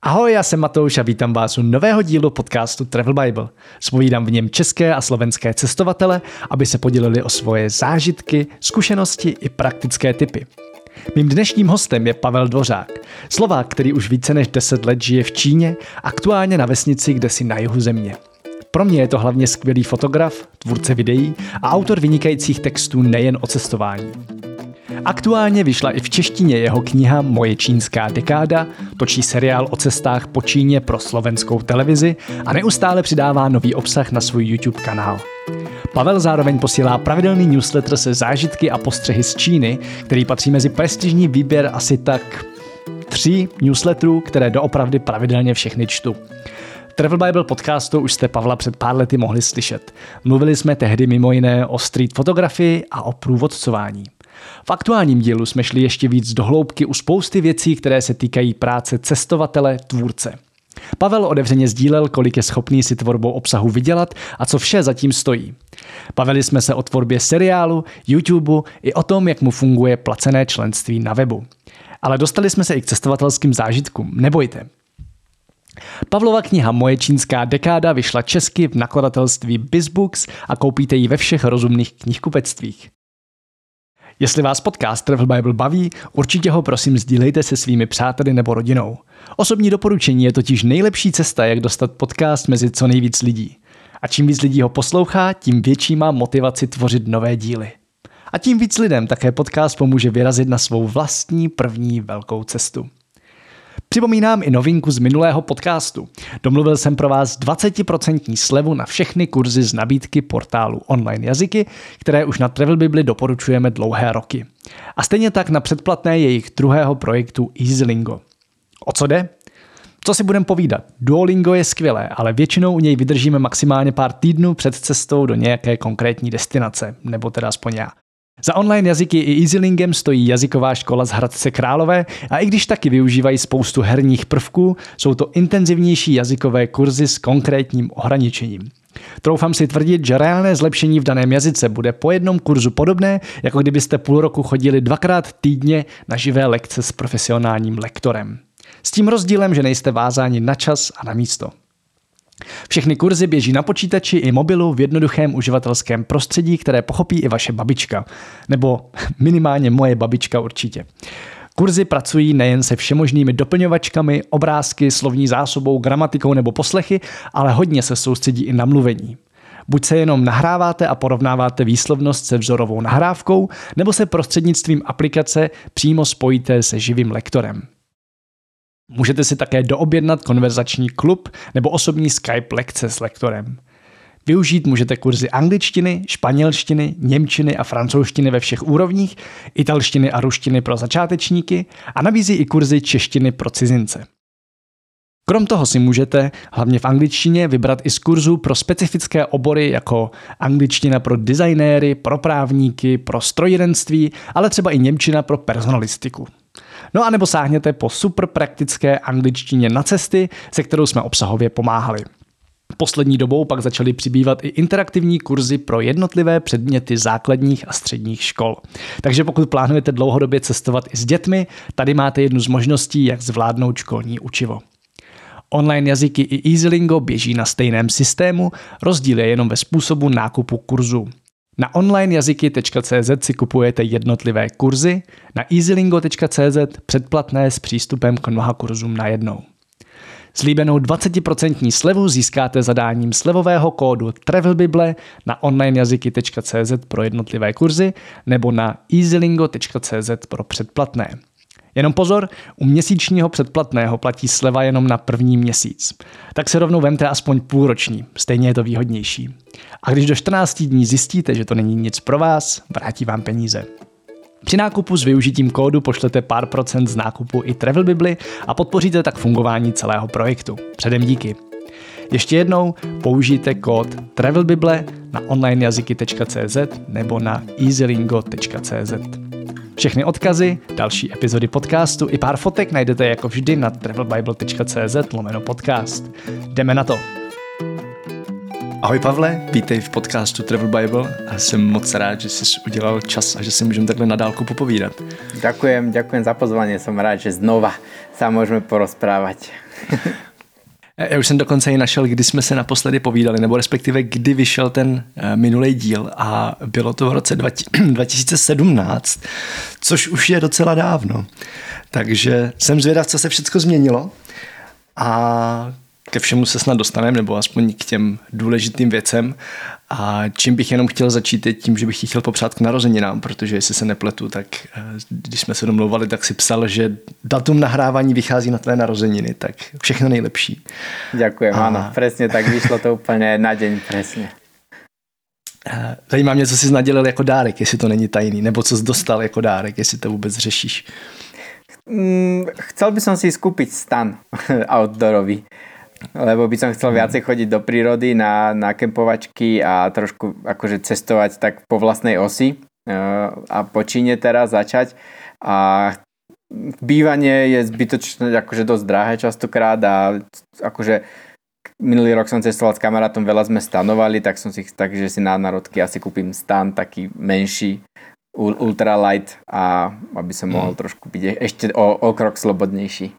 Ahoj, já jsem Matouš a vítám vás u nového dílu podcastu Travel Bible. Zpovídám v něm české a slovenské cestovatele, aby se podělili o svoje zážitky, zkušenosti i praktické tipy. Mým dnešním hostem je Pavel Dvořák, Slovák, který už více než 10 let žije v Číně, aktuálně na vesnici kdesi na jihu země. Pro mě je to hlavně skvělý fotograf, tvůrce videí a autor vynikajících textů nejen o cestování. Aktuálně vyšla i v češtině jeho kniha Moje čínská dekáda, točí seriál o cestách po Číně pro slovenskou televizi a neustále přidává nový obsah na svůj YouTube kanál. Pavel zároveň posílá pravidelný newsletter se zážitky a postřehy z Číny, který patří mezi prestižní výběr asi tak 3 newsletterů, které doopravdy pravidelně všechny čtu. V Travel Bible podcastu už jste Pavla před pár lety mohli slyšet. Mluvili jsme tehdy mimo jiné o street fotografii a o průvodcování. V aktuálním dílu jsme šli ještě víc do hloubky u spousty věcí, které se týkají práce cestovatele, tvůrce. Pavel otevřeně sdílel, kolik je schopný si tvorbou obsahu vydělat a co vše zatím stojí. Bavili jsme se o tvorbě seriálu, YouTube i o tom, jak mu funguje placené členství na webu. Ale dostali jsme se i k cestovatelským zážitkům, nebojte. Pavlova kniha Moje čínská dekáda vyšla česky v nakladatelství BizBooks a koupíte ji ve všech rozumných knihkupectvích. Jestli vás podcast Travel Bible baví, určitě ho prosím sdílejte se svými přáteli nebo rodinou. Osobní doporučení je totiž nejlepší cesta, jak dostat podcast mezi co nejvíc lidí. A čím víc lidí ho poslouchá, tím větší má motivaci tvořit nové díly. A tím víc lidem také podcast pomůže vyrazit na svou vlastní první velkou cestu. Připomínám i novinku z minulého podcastu. Domluvil jsem pro vás 20% slevu na všechny kurzy z nabídky portálu Online jazyky, které už na Travel Bibli doporučujeme dlouhé roky. A stejně tak na předplatné jejich druhého projektu EasyLingo. O co jde? Co si budeme povídat? Duolingo je skvělé, ale většinou u něj vydržíme maximálně pár týdnů před cestou do nějaké konkrétní destinace, nebo teda aspoň já. Za online jazyky i EasyLingem stojí jazyková škola z Hradce Králové a i když taky využívají spoustu herních prvků, jsou to intenzivnější jazykové kurzy s konkrétním ohraničením. Troufám si tvrdit, že reálné zlepšení v daném jazyce bude po jednom kurzu podobné, jako kdybyste půl roku chodili 2krát týdně na živé lekce s profesionálním lektorem. S tím rozdílem, že nejste vázáni na čas a na místo. Všechny kurzy běží na počítači i mobilu v jednoduchém uživatelském prostředí, které pochopí i vaše babička. Nebo minimálně moje babička určitě. Kurzy pracují nejen se všemožnými doplňovačkami, obrázky, slovní zásobou, gramatikou nebo poslechy, ale hodně se soustředí i na mluvení. Buď se jenom nahráváte a porovnáváte výslovnost se vzorovou nahrávkou, nebo se prostřednictvím aplikace přímo spojíte se živým lektorem. Můžete si také doobjednat konverzační klub nebo osobní Skype lekce s lektorem. Využít můžete kurzy angličtiny, španělštiny, němčiny a francouzštiny ve všech úrovních, italštiny a ruštiny pro začátečníky a nabízí i kurzy češtiny pro cizince. Krom toho si můžete, hlavně v angličtině, vybrat i z kurzů pro specifické obory jako angličtina pro designéry, pro právníky, pro strojírenství, ale třeba i němčina pro personalistiku. No a nebo sáhněte po super praktické angličtině na cesty, se kterou jsme obsahově pomáhali. Poslední dobou pak začaly přibývat i interaktivní kurzy pro jednotlivé předměty základních a středních škol. Takže pokud plánujete dlouhodobě cestovat i s dětmi, tady máte jednu z možností, jak zvládnout školní učivo. Online jazyky i EasyLingo běží na stejném systému, rozdíl je jenom ve způsobu nákupu kurzů. Na onlinejazyky.cz si kupujete jednotlivé kurzy, na easylingo.cz předplatné s přístupem k mnoha kurzům najednou. Slíbenou 20% slevu získáte zadáním slevového kódu TravelBible na onlinejazyky.cz pro jednotlivé kurzy nebo na easylingo.cz pro předplatné. Jenom pozor, u měsíčního předplatného platí sleva jenom na první měsíc. Tak se rovnou vemte aspoň půlroční, stejně je to výhodnější. A když do 14 dní zjistíte, že to není nic pro vás, vrátí vám peníze. Při nákupu s využitím kódu pošlete pár procent z nákupu i Travel Bibli a podpoříte tak fungování celého projektu. Předem díky. Ještě jednou použijte kód TravelBible na onlinejazyky.cz nebo na easylingo.cz. Všechny odkazy, další epizody podcastu i pár fotek najdete jako vždy na travelbible.cz/podcast. Jdeme na to! Ahoj Pavle, vítej v podcastu Travel Bible a jsem moc rád, že jsi udělal čas a že si můžeme takhle na dálku popovídat. Ďakujem za pozvanie, som rád, že znova sa môžeme porozprávať. Já už jsem dokonce i našel, kdy jsme se naposledy povídali, nebo respektive kdy vyšel ten minulý díl a bylo to v roce 2017, což už je docela dávno. Takže jsem zvědav, co se všechno změnilo a ke všemu se snad dostaneme, nebo aspoň k těm důležitým věcem. A čím bych jenom chtěl začít je tím, že bych ti chtěl popřát k narozeninám, protože jestli se nepletu, tak když jsme se domlouvali, tak si psal, že datum nahrávání vychází na tvé narozeniny, tak všechno nejlepší. Ďakujem, áno, presne tak, vyšlo to úplně na deň, presne. Zajímá mě, co jsi nadělil jako dárek, jestli to není tajný, nebo co jsi dostal jako dárek, jestli to vůbec řešíš. Chcel by som si skúpiť stan outdoorový, lebo by som chcel viacej chodiť do prírody na kempovačky a trošku akože cestovať tak po vlastnej osi a po Číne teraz začať. A bývanie je zbytočne akože dosť drahé častokrát a akože minulý rok som cestoval s kamarátom, veľa sme stanovali, takže si na národky asi kúpim stan taký menší, ultralight, a aby som mohol trošku byť ešte o krok slobodnější.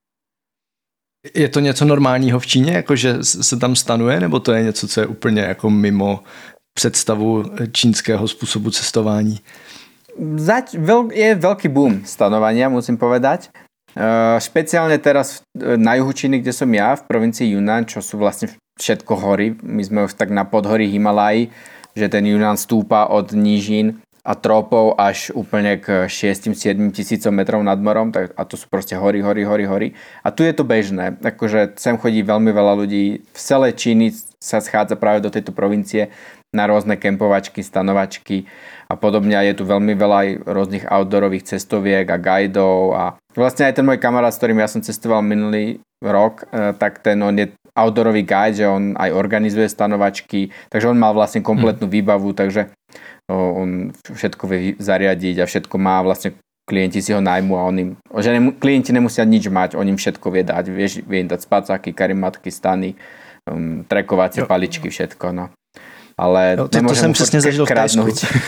Je to něco normálního v Číně, jakože se tam stanuje, nebo to je něco, co je úplně jako mimo představu čínského způsobu cestování? Je veľký boom stanovania, musím povedať. Špeciálne teraz na juhu Číny, kde som ja, v provincii Yunnan, čo sú vlastne všetko hory. My sme už tak na podhorí Himalají, že ten Yunnan stúpa od nížin a tropov až úplne k 6-7 tisícom metrov nad morom, a to sú proste hory. A tu je to bežné, akože sem chodí veľmi veľa ľudí, v celej Číny sa schádza práve do tejto provincie na rôzne kempovačky, stanovačky a podobne, a je tu veľmi veľa aj rôznych outdoorových cestoviek a guidov a vlastne aj ten môj kamarát, s ktorým ja som cestoval minulý rok, tak on je outdoorový guide, že on aj organizuje stanovačky, takže on mal vlastne kompletnú výbavu, takže on všetko vie zariadiť a všetko má, vlastne klienti si ho najmú a klienti nemusia nič mať, on im všetko vie dať, vie im dať spacáky, karimatky, stany, trekovacie paličky, všetko, no. Ale to jsem přesně zažil v Tajsku.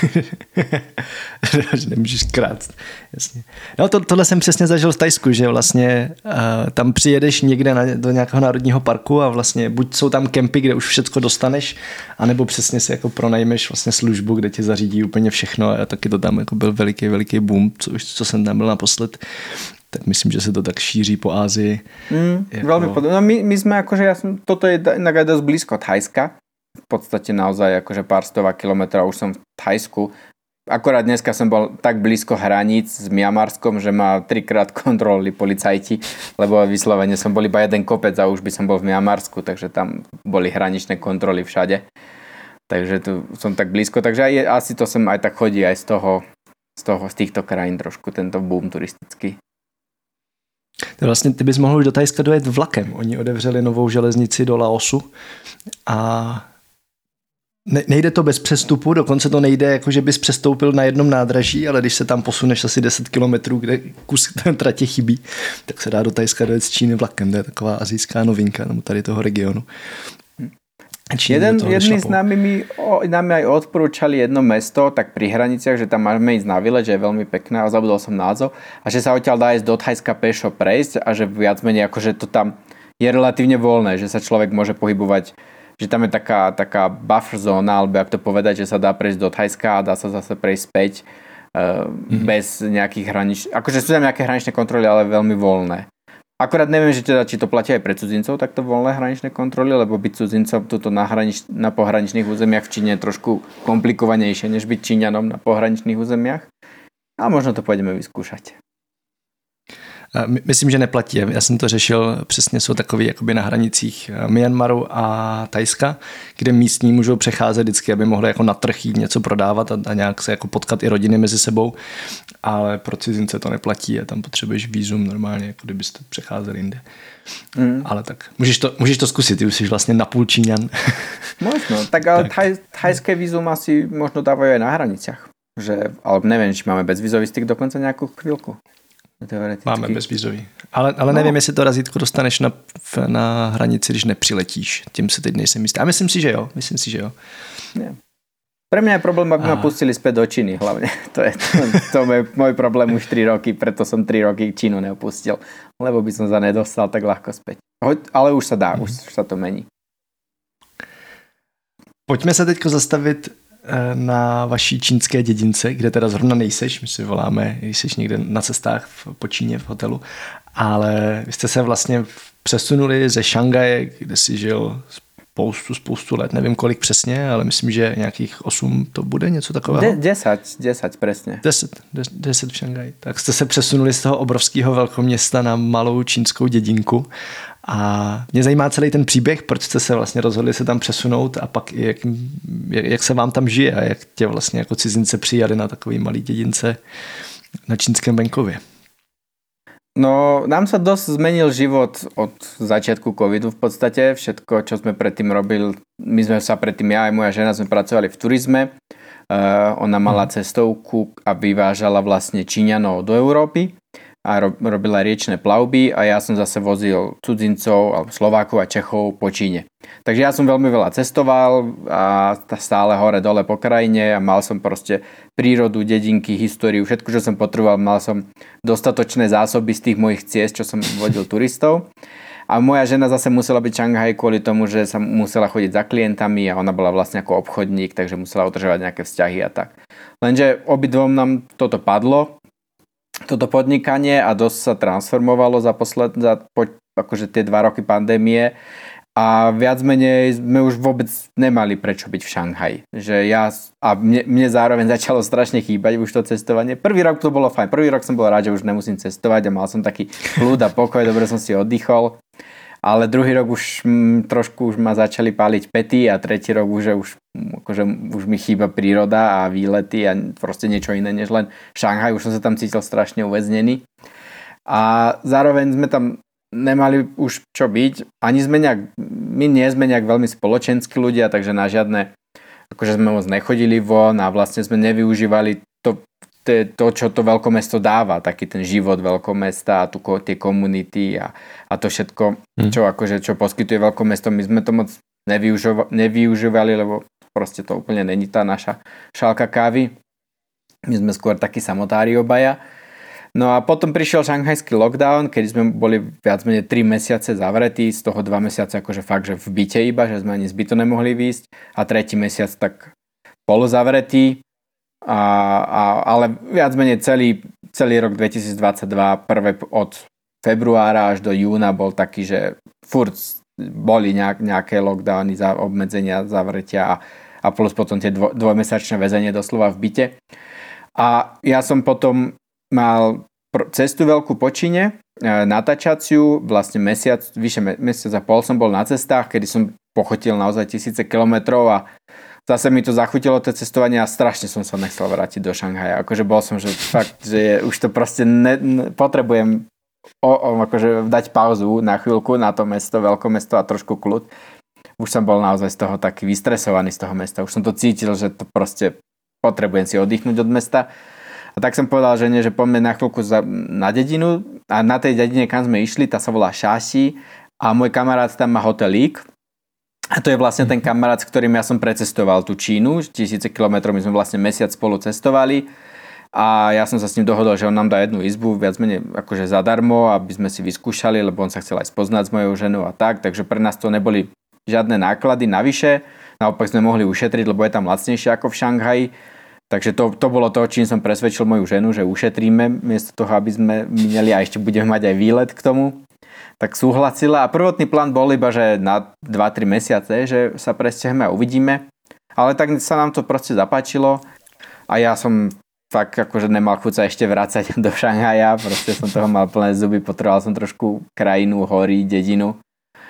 Nemůžeš krást. Jasně. No tohle jsem přesně zažil v Tajsku, že vlastně tam přijedeš někde do nějakého národního parku a vlastně buď jsou tam kempy, kde už všechno dostaneš, anebo přesně si jako pronajmeš vlastně službu, kde ti zařídí úplně všechno, a taky to tam jako byl veliký boom, co jsem tam byl naposled. Tak myslím, že se to tak šíří po Ázii. Veľmi podobné. No my sme akože, toto je inak dosť blízko Thajska. V podstate naozaj akože pár stovák kilometrov už som v Thajsku. Akorát dneska som bol tak blízko hraníc s Mianmarskom, že ma 3-krát kontrolovali policajti, lebo vyslovene som bol iba jeden kopec a už by som bol v Mianmarsku, takže tam boli hraničné kontroly všade. Takže tu som tak blízko, takže asi to sem aj tak chodí aj z týchto krajín trošku tento boom turistický. To vlastně ty bys mohl už do Thajska dojet vlakem. Oni otevřeli novou železnici do Laosu a nejde to bez přestupu, dokonce to nejde, jako že bys přestoupil na jednom nádraží, ale když se tam posuneš asi 10 kilometrů, kde kus tratě chybí, tak se dá do Thajska dojet z Číny vlakem. To je taková asijská novinka tady toho regionu. Jedni s nami aj odporúčali jedno mesto, tak pri hraniciach, že tam máme ísť na výlet, že je veľmi pekné, a zabudol som názov, a že sa odtiaľ dá ísť do Thajska pešo prejsť a že viac menej akože to tam je relatívne voľné, že sa človek môže pohybovať, že tam je taká buffer zóna, alebo jak to povedať, že sa dá prejsť do Thajska a dá sa zase prejsť späť bez nejakých akože sú tam nejaké hraničné kontroly, ale veľmi voľné. Akorát neviem, že teda, či to platí aj pre cudzincov, takto voľné hraničné kontroly, lebo byť cudzincom tuto na pohraničných územiach v Číne je trošku komplikovanejšie, než byť Číňanom na pohraničných územiach. A možno to pôjdeme vyskúšať. Myslím, že neplatí. Já jsem to řešil, přesně jsou takový jakoby na hranicích Myanmaru a Thajska, kde místní můžou přecházet vždycky, aby mohli jako na trh jít něco prodávat a nějak se jako potkat i rodiny mezi sebou, ale pro cizince to neplatí a tam potřebuješ vízum normálně, jako kdybyste přecházeli jinde. Ale tak, můžeš to zkusit, ty už jsi vlastně napůl Číňan. Možno, tak ale thajské vízum asi možno dávajú aj na hraniciach. Ale neviem, či máme bezvízový styk dokonca nejakú chvíľku. teoreticky. Máme bezvízový. Ale nevím, jestli to razítko dostaneš na hranici, když nepřiletíš. Tím se teď nejsem jistý. A myslím si, že jo. Nie. Pre mňa je problém, aby ma pustili späť do Číny hlavne. To je môj problém už 3 roky, preto som 3 roky Čínu neopustil, lebo by som sa nedostal tak ľahko späť. Ale už sa dá, už sa to mení. Pojďme se teďko zastavit na vaší čínské dědince, kde teda zrovna nejseš, my si voláme, jsi někde na cestách po Číně v hotelu, ale vy jste se vlastně přesunuli ze Šanghaje, kde si žil spoustu let, nevím kolik přesně, ale myslím, že nějakých 8 to bude, něco takového. 10 přesně. 10 v Šanghaji. Tak jste se přesunuli z toho obrovského velkoměsta na malou čínskou dědinku a mě zajímá celý ten příběh, proč jste se vlastně rozhodli se tam přesunout a pak i jak se vám tam žije a jak tě vlastně jako cizince přijali na takový malý dědince na čínském venkově. No, nám sa dosť zmenil život od začiatku covidu v podstate. Všetko, čo sme predtým robili, my sme sa predtým, ja aj moja žena, sme pracovali v turizme. Ona mala cestovku a vyvážala vlastne Číňanov do Európy a robila riečne plavby a ja som zase vozil cudzincov alebo Slovákov a Čechov po Číne. Takže ja som veľmi veľa cestoval a stále hore dole po krajine a mal som proste prírodu, dedinky, históriu, všetko, čo som potreboval, mal som dostatočné zásoby z tých mojich ciest, čo som vodil turistov. A moja žena zase musela byť v Šanghaji kvôli tomu, že sa musela chodiť za klientami a ona bola vlastne ako obchodník, takže musela udržovať nejaké vzťahy a tak. Lenže obidvom nám toto padlo, toto podnikanie a dosť sa transformovalo za akože tie 2 roky pandémie a viac menej sme už vôbec nemali prečo byť v Šanghaji. Mne zároveň začalo strašne chýbať už to cestovanie. Prvý rok to bolo fajn. Prvý rok som bol rád, že už nemusím cestovať a mal som taký kľud a pokoj, dobre som si oddychol. Ale druhý rok už trošku už ma začali páliť päty a tretí rok už mi chýba príroda a výlety a proste niečo iné než len Šanghaj. Už som sa tam cítil strašne uväznený. A zároveň sme tam nemali už čo byť. My nie sme nejak veľmi spoločenskí ľudia, takže na žiadne, akože sme moc nechodili von a vlastne sme nevyužívali to, čo to veľkomesto dáva, taký ten život veľkomesta a tie komunity a to všetko, čo poskytuje veľkomesto. My sme to moc nevyužívali, lebo proste to úplne není tá naša šálka kávy. My sme skôr takí samotári obaja. No a potom prišiel šanghajský lockdown, keď sme boli viac menej 3 mesiace zavretí, z toho 2 mesiace akože fakt, že v byte iba, že sme ani z bytu nemohli výjsť a 3. mesiac tak polozavretí. Ale viac menej celý rok 2022, prvé od februára až do júna bol taký, že furt boli nejaké lockdowny, obmedzenia, zavretia a plus potom tie dvojmesačné väzenie doslova v byte. A ja som potom mal cestu veľkú po Číne, natáčaciu, vlastne vyše mesiac a pol som bol na cestách, kedy som pochotil naozaj 1000 kilometrov a zase mi to zachutilo to cestovanie a strašne som sa nechcel vrátiť do Šanghaja. Akože bol som, že fakt, že už to proste potrebujem akože dať pauzu na chvíľku na to mesto, veľkomesto a trošku kľud. Už som bol naozaj z toho taký vystresovaný z toho mesta. Už som to cítil, že to proste potrebujem si oddychnúť od mesta. A tak som povedal žene, že poďme na chvíľku na dedinu a na tej dedine, kam sme išli, tá sa volá Šáši a môj kamarát tam má hotelík. A to je vlastne ten kamarát, s ktorým ja som precestoval tú Čínu, 1000 kilometrov, my sme vlastne mesiac spolu cestovali a ja som sa s ním dohodol, že on nám dá jednu izbu viac menej akože zadarmo, aby sme si vyskúšali, lebo on sa chcel aj spoznať s mojou ženou a tak, takže pre nás to neboli žiadne náklady navyše, naopak sme mohli ušetriť, lebo je tam lacnejšie ako v Šanghaji, takže to bolo to, čím som presvedčil moju ženu, že ušetríme miesto toho, aby sme mineli a ešte budeme mať aj výlet k tomu. Tak súhlasila a prvotný plán bol iba, že na 2-3 mesiace, že sa presťahujeme a uvidíme. Ale tak sa nám to proste zapáčilo a ja som fakt akože nemal chuť sa ešte vrácať do Šanghaja, proste som toho mal plné zuby, potreboval som trošku krajinu, hory, dedinu.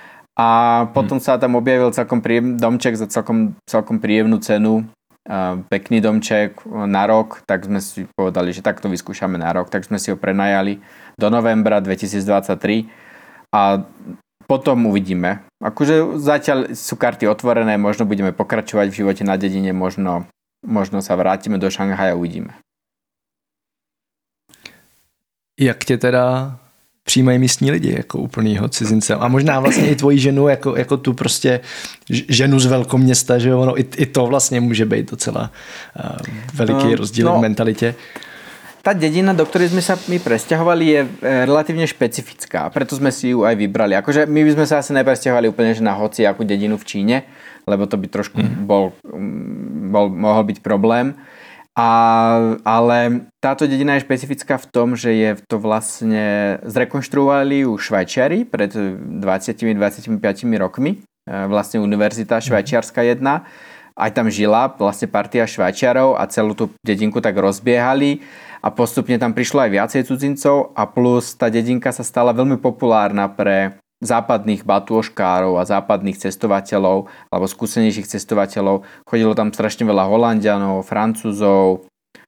A potom sa tam objavil celkom príjemný domček za celkom príjemnú cenu, pekný domček na rok, tak sme si povedali, že takto vyskúšame na rok, tak sme si ho prenajali do novembra 2023. A potom uvidíme. Akože zatiaľ sú karty otvorené, možno budeme pokračovať v živote na dedine, možno sa vrátime do Šanghaja a uvidíme. Jak tě teda přijímají místní lidi jako úplnýho cizince? A možná vlastně i tvoji ženu jako tu prostě ženu z velkoměsta, že ono i to vlastně může být docela veliký rozdíl v mentalitě. Tá dedina, do ktorej sme sa my presťahovali, je relatívne špecifická, preto sme si ju aj vybrali. Akože my by sme sa asi nepresťahovali úplne že na hociakú dedinu v Číne, lebo to by trošku mohol byť problém. Ale táto dedina je špecifická v tom, že je to vlastne zrekonštruovali ju Švajčiari pred 20-25 rokmi. Vlastne univerzita švajčiarska jedna. Aj tam žila vlastne partia Švajčiarov a celú tú dedinku tak rozbiehali. A postupne tam prišlo aj viacej cudzincov a plus tá dedinka sa stala veľmi populárna pre západných batôžkárov a západných cestovateľov alebo skúsenejších cestovateľov. Chodilo tam strašne veľa Holanďanov, Francúzov,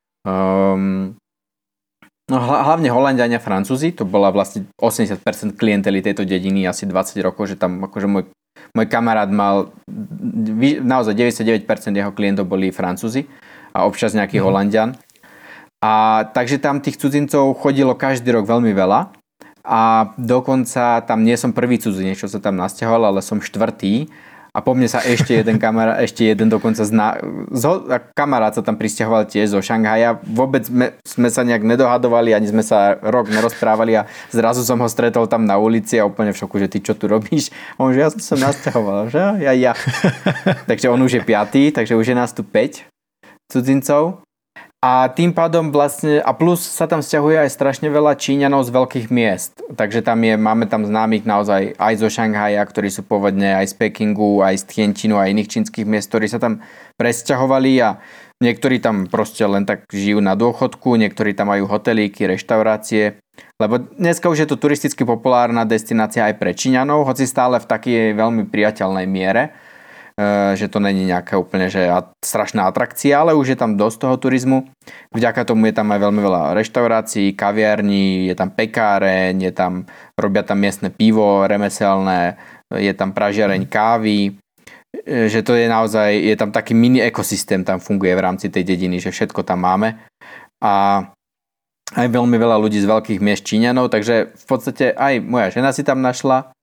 hlavne Holanďania a Francúzi. To bola vlastne 80% klientely tejto dediny, asi 20 rokov, že tam akože môj kamarát mal naozaj 99% jeho klientov boli Francúzi a občas nejaký Holanďan. A takže tam tých cudzincov chodilo každý rok veľmi veľa a dokonca tam nie som prvý cudzinec, čo sa tam nasťahoval, ale som štvrtý a po mne sa ešte jeden dokonca kamarát sa tam prisťahoval tiež zo Šanghaja. Vôbec sme sa nejak nedohadovali, ani sme sa rok nerozprávali a zrazu som ho stretol tam na ulici a úplne v šoku, že ty čo tu robíš? A on, že ja som sa nasťahoval, že ja. Takže on už je 5, takže už je nás tu 5 cudzincov. A tým pádom vlastne, a plus sa tam sťahuje aj strašne veľa Číňanov z veľkých miest. Takže máme tam známych naozaj aj zo Šanghaja, ktorí sú pôvodne aj z Pekingu, aj z Tianjinu a iných čínskych miest, ktorí sa tam presťahovali a niektorí tam proste len tak žijú na dôchodku, niektorí tam majú hotelíky, reštaurácie. Lebo dneska už je to turisticky populárna destinácia aj pre Číňanov, hoci stále v takej veľmi priateľnej miere, že to není nejaká úplne že strašná atrakcia, ale už je tam dosť toho turizmu. Vďaka tomu je tam aj veľmi veľa reštaurácií, kaviarní, je tam pekáreň, robia tam miestne pivo, remeselné, je tam pražiareň kávy, že to je naozaj, je tam taký mini ekosystém, tam funguje v rámci tej dediny, že všetko tam máme. A aj veľmi veľa ľudí z veľkých miest Číňanov, takže v podstate aj moja žena si tam našla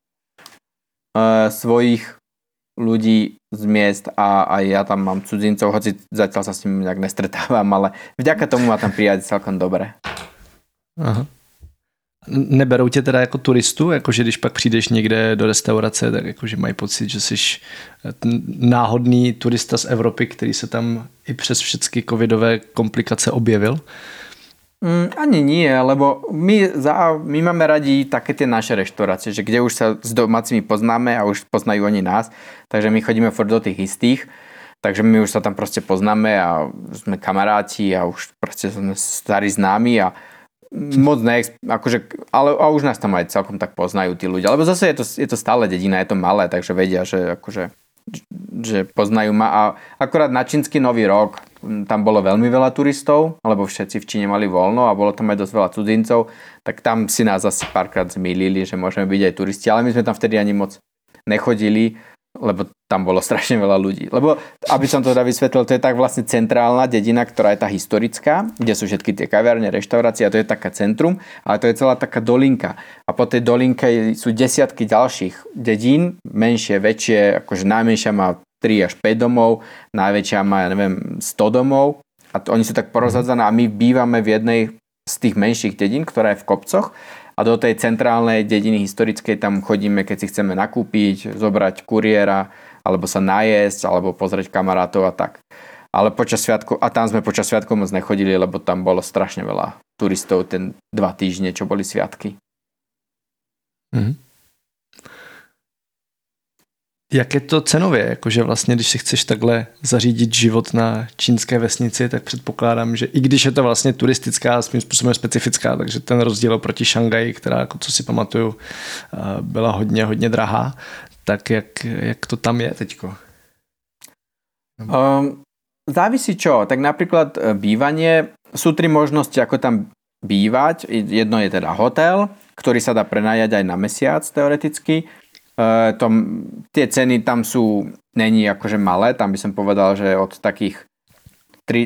svojich ľudí z miest a aj ja tam mám cudzincov, hoci zatiaľ sa s ním nejak nestretávam, ale vďaka tomu ma tam prijať celkom dobre. Aha. Neberou tě teda jako turistu, jakože když pak přijdeš někde do restaurace, tak jakože mají pocit, že jsi náhodný turista z Evropy, který se tam i přes všechny covidové komplikace objevil? Ani nie, lebo my máme radi také tie naše reštaurácie, že kde už sa s domácimi poznáme a už poznajú oni nás, takže my chodíme furt do tých istých, takže my už sa tam proste poznáme a sme kamaráti a už proste sme starí známi a moc ale už nás tam aj celkom tak poznajú tí ľudia, lebo zase je to stále dedina, je to malé, takže vedia, že poznajú ma a akorát na čínsky nový rok tam bolo veľmi veľa turistov, lebo všetci v Číne mali voľno a bolo tam aj dosť veľa cudzincov, tak tam si nás asi párkrát zmýlili, že môžeme byť aj turisti, ale my sme tam vtedy ani moc nechodili, lebo tam bolo strašne veľa ľudí. Lebo, aby som to teda vysvetlil, to je tak vlastne centrálna dedina, ktorá je tá historická, kde sú všetky tie kaviarne, reštaurácie a to je taká centrum, ale to je celá taká dolinka. A po tej dolinke sú desiatky ďalších dedín, menšie, väčšie, akože najmenšia má 3 až 5 domov, najväčšia má, 100 domov a oni sú tak porozhádzané a my bývame v jednej z tých menších dedín, ktorá je v kopcoch a do tej centrálnej dediny historickej tam chodíme, keď si chceme nakúpiť, zobrať kuriéra, alebo sa najesť, alebo pozrieť kamarátov a tak. Ale počas sviatkov, a tam sme počas sviatkov moc nechodili, lebo tam bolo strašne veľa turistov ten 2 týždne, čo boli sviatky. Mhm. Jak je to cenově? Jakože vlastně, když si chceš takhle zařídit život na čínské vesnici, tak předpokládám, že i když je to vlastně turistická a svým způsobem specifická, takže ten rozdíl oproti Šanghaji, která, jako co si pamatuju, byla hodně, hodně drahá, tak jak to tam je teďko? Závisí čo. Tak napríklad bývanie, sú 3 možnosti, ako tam bývať. Jedno je teda hotel, ktorý sa dá prenajať aj na mesiac teoreticky. Tie ceny tam sú, není akože malé, tam by som povedal, že od takých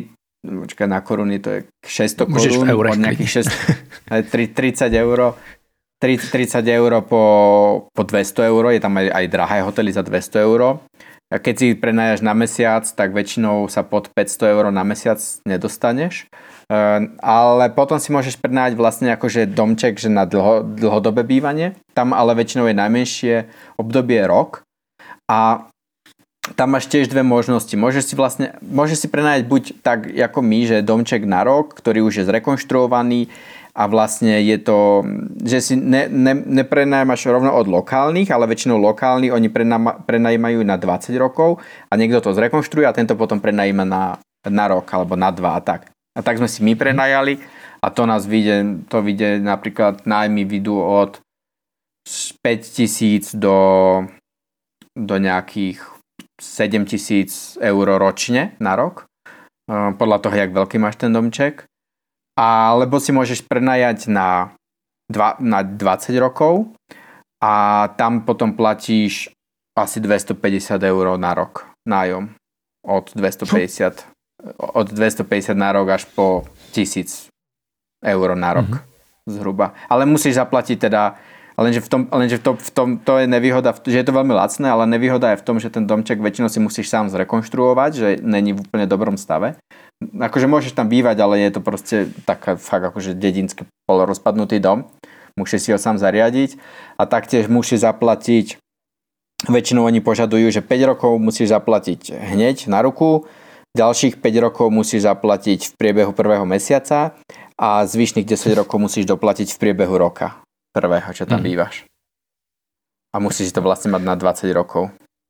počkaj, na koruny to je 600 Môžeš korún, v eurech od nejakých 30 eur, 30 eur po 200 eur, je tam aj drahé hotely za 200 eur. A keď si prenajaš na mesiac, tak väčšinou sa pod 500 eur na mesiac nedostaneš. Ale potom si môžeš prenajať vlastne akože domček, že na dlhodobé bývanie. Tam ale väčšinou je najmenšie obdobie rok. A tam máš tiež dve možnosti. Môžeš si prenajať buď tak ako my, že domček na rok, ktorý už je zrekonštruovaný a vlastne je to, že si neprenajímaš rovno od lokálnych, ale väčšinou lokálni oni prenajímajú na 20 rokov a niekto to zrekonštruuje a tento potom prenajíma na rok alebo na 2 a tak. A tak sme si my prenajali a to nás vyjde napríklad nájmy vidú od 5 000 do nejakých 7 000 eur ročne na rok. Podľa toho, jak veľký máš ten domček. Alebo si môžeš prenajať na 20 rokov a tam potom platíš asi 250 eur na rok nájom. Od 250 na rok až po 1000 eur na rok. Zhruba. Ale musíš zaplatiť teda, lenže v tom to je nevýhoda, že je to veľmi lacné, ale nevýhoda je v tom, že ten domček väčšinou si musíš sám zrekonštruovať, že není v úplne dobrom stave. Akože môžeš tam bývať, ale je to proste taká fakt akože dedinský polorozpadnutý dom. Musíš si ho sám zariadiť a taktiež musíš zaplatiť, väčšinou oni požadujú, že 5 rokov musíš zaplatiť hneď na ruku, ďalších 5 rokov musíš zaplatiť v priebehu prvého mesiaca a zvyšných 10 rokov musíš doplatiť v priebehu roka prvého, čo tam bývaš. A musíš to vlastne mať na 20 rokov.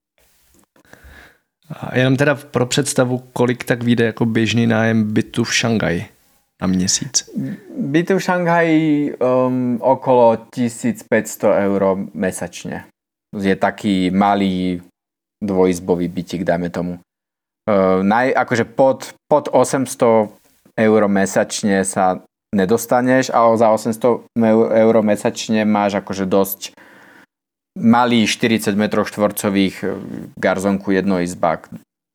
A jenom teda pro představu, kolik tak vyjde jako běžný nájem bytu v Šanghaji na měsíc? Byty v Šanghaji okolo 1500 eur mesačne. Je taký malý dvojizbový bytík, dajme tomu. Akože pod 800 eur mesačne sa nedostaneš, ale za 800 eur mesačne máš akože dosť malý 40 m štvorcových garzonku jednoizbák.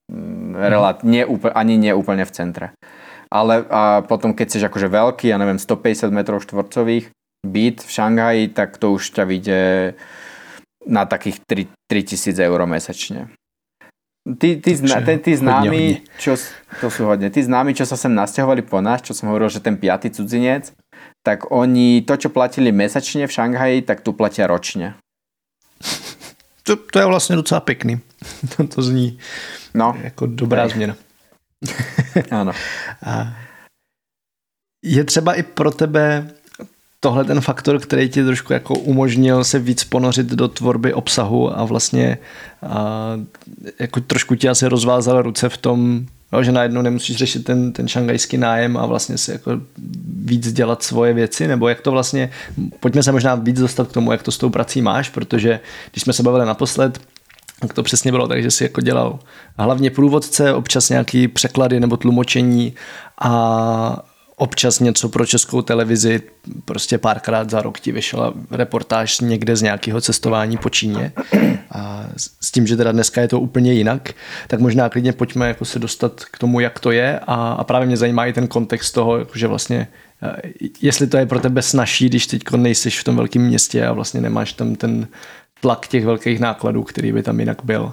Ani nie úplne v centre. Ale a potom keď si akože veľký, ja neviem, 150 m štvorcových byt v Šanghaji, tak to už ťa vyjde na takých 3000 eur mesačne. Tí známi, to sú hodne. Tí známi, čo sa sem nasťahovali po nás, čo som hovoril, že ten 5. cudzinec, tak oni to, čo platili mesačne v Šanghaji, tak tu platia ročne. To je vlastně docela pěkný. To zní jako dobrá změna. Ano. Je třeba i pro tebe tohle ten faktor, který ti trošku jako umožnil se víc ponořit do tvorby obsahu a vlastně jako trošku ti asi rozvázal ruce v tom, že najednou nemusíš řešit ten šangajský nájem a vlastně si jako víc dělat svoje věci, nebo jak to vlastně, pojďme se možná víc dostat k tomu, jak to s tou prací máš, protože když jsme se bavili naposled, tak to přesně bylo tak, že si jako dělal hlavně průvodce, občas nějaký překlady nebo tlumočení a občas něco pro Českou televizi, prostě párkrát za rok ti vyšla reportáž někde z nějakého cestování po Číně a s tím, že teda dneska je to úplně jinak, tak možná klidně pojďme jako se dostat k tomu, jak to je a právě mě zajímá i ten kontext toho, že vlastně jestli to je pro tebe snazší, když teď nejsiš v tom velkém městě a vlastně nemáš tam ten tlak těch velkých nákladů, který by tam jinak byl.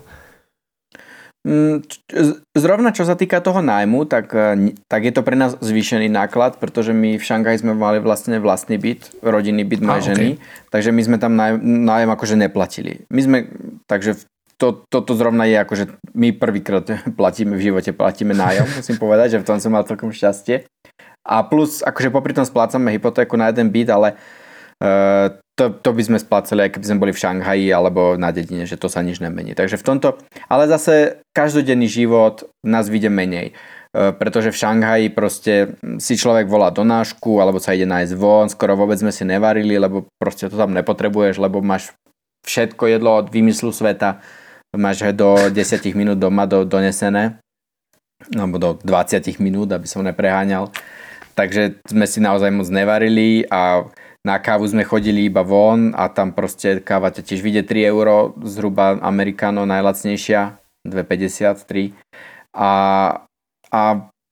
Zrovna čo sa týka toho nájmu, tak je to pre nás zvýšený náklad, pretože my v Šanghaji sme mali vlastne vlastný byt, rodinný byt mojej ženy, takže my sme tam nájem akože neplatili. Takže toto zrovna je akože my prvýkrát v živote platíme nájom, musím povedať, že v tom som mal celkom šťastie. A plus akože popri tom splácame hypotéku na jeden byt, ale to by sme splácali, aj keby sme boli v Šanghaji alebo na dedine, že to sa nič nemení. Takže v tomto, ale zase každodenný život nás vyjde menej. Pretože v Šanghaji proste si človek volá do nášku alebo sa ide nájsť von, skoro vôbec sme si nevarili, lebo proste to tam nepotrebuješ, lebo máš všetko jedlo od výmyslu sveta, máš ho do 10 minút doma donesené, alebo do 20 minút, aby som nepreháňal. Takže sme si naozaj moc nevarili a na kávu sme chodili iba von a tam proste káva tiež vyjde 3 euro, zhruba americano najlacnejšia, 2,53. A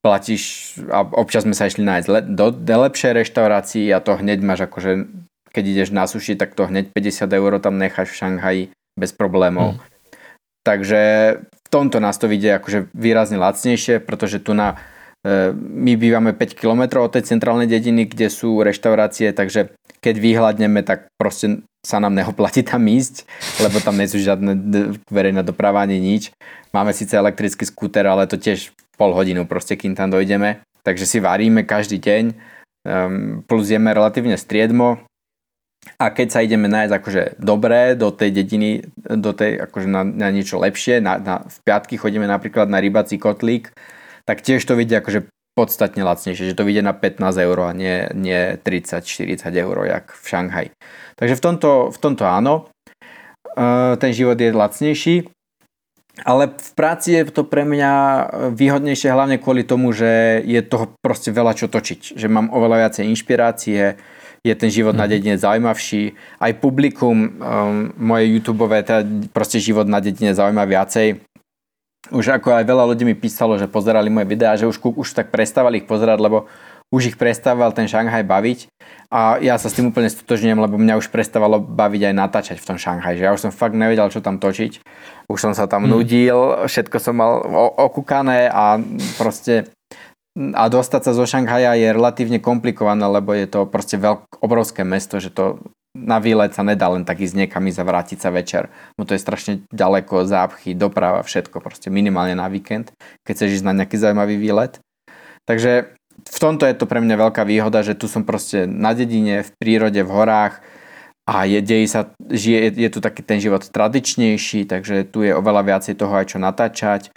platíš, a občas sme sa išli nájsť do lepšej reštaurácii a to hneď máš akože, keď ideš na suši, tak to hneď 50 € tam necháš v Šanghaji bez problémov. Takže v tomto nás to vidie akože výrazne lacnejšie, pretože tu my bývame 5 km od tej centrálnej dediny, kde sú reštaurácie, takže keď vyhľadneme, tak proste sa nám neoplatí tam ísť, lebo tam nie sú žiadne verejná doprava ani nič. Máme síce elektrický skúter, ale to tiež pol hodinu proste, kým tam dojdeme. Takže si varíme každý deň, plus jeme relatívne striedmo. A keď sa ideme nájsť akože dobré do tej dediny, akože na niečo lepšie, v piatky chodíme napríklad na rybací kotlík, tak tiež to vidie akože podstatne lacnejšie, že to vidie na 15 € a nie 30-40 €, jak v Šanghaji. Takže v tomto áno, ten život je lacnejší, ale v práci je to pre mňa výhodnejšie hlavne kvôli tomu, že je toho proste veľa čo točiť, že mám oveľa viacej inšpirácie, je ten život na dedine zaujímavší, aj publikum moje YouTubeové, teda proste život na dedine zaujíma viacej. Už ako aj veľa ľudí mi písalo, že pozerali moje videá, že už tak prestávali ich pozerať, lebo už ich prestával ten Šanghaj baviť a ja sa s tým úplne stotožňujem, lebo mňa už prestávalo baviť aj natáčať v tom Šanghaji, že ja už som fakt nevedel, čo tam točiť. Už som sa tam nudil, všetko som mal okúkané a proste a dostať sa zo Šanghaja je relatívne komplikované, lebo je to proste obrovské mesto, že to na výlet sa nedá len tak ísť niekam a vrátiť sa večer. No to je strašne ďaleko, zápchy, doprava, všetko proste minimálne na víkend, keď chceš ísť na nejaký zaujímavý výlet. Takže v tomto je to pre mňa veľká výhoda, že tu som proste na dedine, v prírode, v horách a je tu taký ten život tradičnejší, takže tu je oveľa viacej toho aj čo natáčať.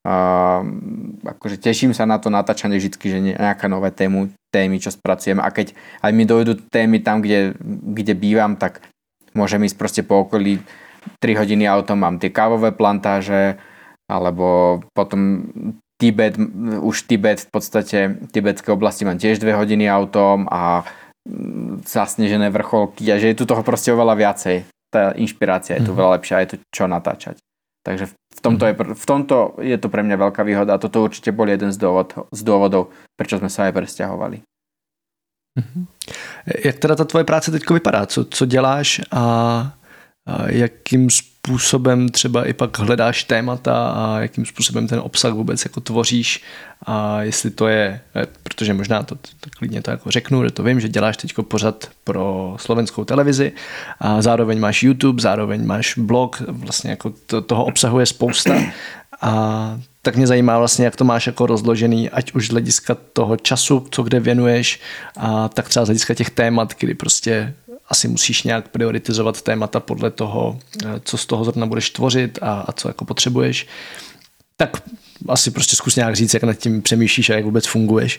Akože teším sa na to natáčanie vždycky, že nejaká nové témy, čo spracujem a keď aj mi dojdú témy tam, kde bývam, tak môžem ísť proste po okolí 3 hodiny autom, mám tie kávové plantáže alebo potom Tibet v podstate tibetské oblasti mám tiež 2 hodiny autom a zasnežené vrcholky a že je tu toho proste oveľa viacej, tá inšpirácia je tu veľa lepšia, je tu čo natáčať. Takže v tomto je to pre mňa veľká výhoda a toto určite bol jeden z dôvodov, prečo sme sa aj presťahovali. Jak teda ta tvoje práce teďko vypadá? Co děláš a jakým způsobem třeba i pak hledáš témata a jakým způsobem ten obsah vůbec jako tvoříš a jestli to je, protože možná to klidně to jako řeknu, že to vím, že děláš teďko pořad pro slovenskou televizi a zároveň máš YouTube, zároveň máš blog, vlastně jako toho obsahu je spousta a tak mě zajímá vlastně, jak to máš jako rozložený, ať už z hlediska toho času, co kde věnuješ a tak třeba z hlediska těch témat, kdy prostě asi musíš nějak prioritizovat témata podle toho, co z toho zrovna budeš tvořit a co jako potřebuješ. Tak asi prostě zkus nějak říct, jak nad tím přemýšlíš a jak vůbec funguješ.